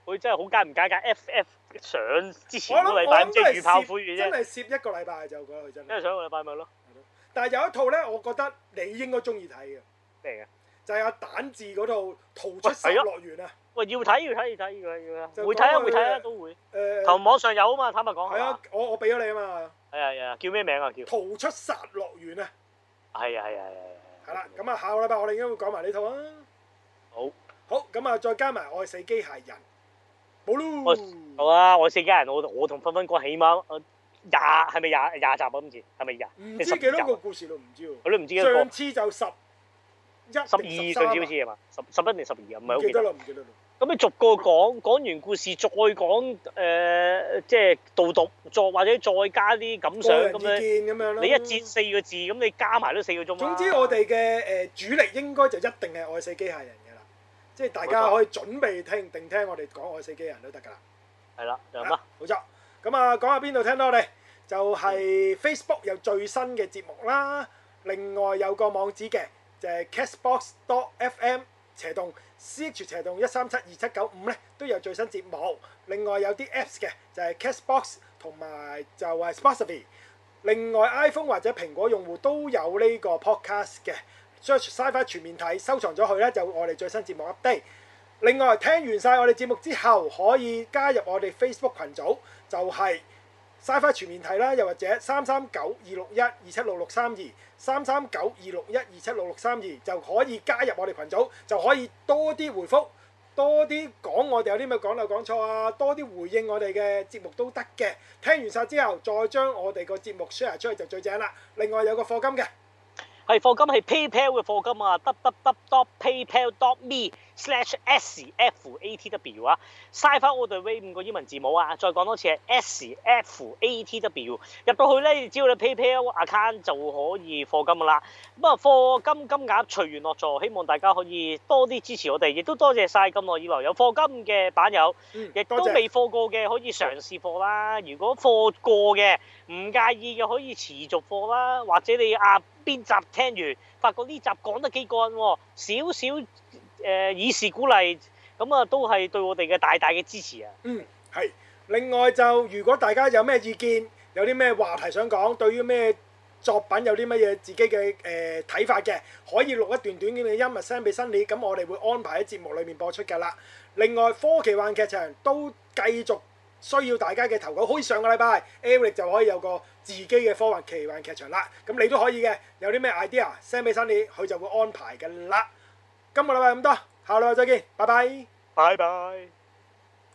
佢真係好間唔間間 F F 上之前個禮拜即係預炮灰嘅啫。 真係攝一個禮拜就覺得佢真係。 因為上個禮拜咪咯。 但係有一套咧，我覺得你應該中意睇嘅。 咩嘅？ 就係阿蛋治嗰套《逃出殺樂園》啊！ 喂，要睇要睇要睇要睇要睇，會睇啊會睇啊都會。誒，頭網上有啊嘛，坦白講。 係啊，我我俾咗你啊嘛。 係啊係啊，叫咩名啊？叫《 逃出殺樂園》啊！ 係啊係啊係啊！ 係啦，咁啊下個禮拜我哋應該會講埋呢套啊。好。好，咁啊再加埋《愛死機械人》，冇咯。 好啊，《愛死機械人》我我同分分講起碼廿係咪廿廿集啊？今次係咪廿？ 唔知幾多個故事都唔知喎。 我都唔知幾多個。 上次就十。 十二上次好似係嘛？十十一定十二啊？唔係好記得。 唔記得啦，唔記得啦。 咁你逐個講，講完故事再講誒，即係導讀，再或者再加啲感想咁樣。你一節四個字，咁你加埋都四個鐘啦。 總之我哋嘅誒主力應該就一定係愛死機械人嘅啦，即係大家可以準備聽定聽我哋講愛死機械人都得㗎啦。係啦，就咁啦。冇錯。咁啊，講下邊度聽到我哋？就係 Facebook 有最新嘅節目啦，另外有個網址嘅。就係 castbox dot f m 斜洞 c h 斜洞一三七二七九五咧都有最新節目。另外有啲 Apps 嘅就係 castbox 同埋就係 Spotify。另外 iPhone 或者蘋果用戶都有呢個 podcast 嘅 search Sci-Fi 全面睇收藏咗佢咧，就我哋最新節目 update。另外聽完晒我哋節目之後，可以加入我哋 Facebook 群組，就係、是。Sci-Fi 全面睇啦，又或者三三九二六一二七六六三二三三九二六一二七六六三二就可以加入我哋群組，就可以多啲回覆，多啲講我哋有啲咩講漏講錯啊，多啲回應我哋嘅節目都得嘅。聽完晒之後，再將我哋個節目 share 出去就最正啦。另外有個課金嘅， 係課金係 PayPal 嘅課金啊 ，www dot paypal dot me slash s f a t w 啊 ，Sci-Fi All The Way 五個英文字母啊，再講多次係 s f a t w， 入到去咧，只要你 PayPal account 就可以課金噶啦。咁啊，課金金額隨緣落座，希望大家可以多啲支持我哋，亦都多謝晒咁耐以來有課金嘅版友，亦、嗯、都未課過嘅可以嘗試課啦。如果課過嘅唔介意嘅可以持續課啦，或者你啊邊集聽完發覺呢集講得幾過癮喎，少少。誒、呃、以示鼓勵，咁啊都係對我哋嘅大大嘅支持啊！ 嗯，係。另外就如果大家有咩意見，有啲咩話題想講，對於咩作品有啲乜嘢自己嘅誒睇法嘅，可以錄一段短短嘅音樂 send 俾 Sunny，咁我哋會安排喺節目裏面播出㗎啦。另外科奇幻劇場都繼續需要大家嘅投稿，好似上個禮拜 Eric 就可以有個自己嘅科幻奇幻劇場啦，咁你都可以嘅，有啲咩 idea send 俾 Sunny，佢就會安排㗎啦。今個禮拜咁多，下個禮拜再見，拜拜。 拜拜。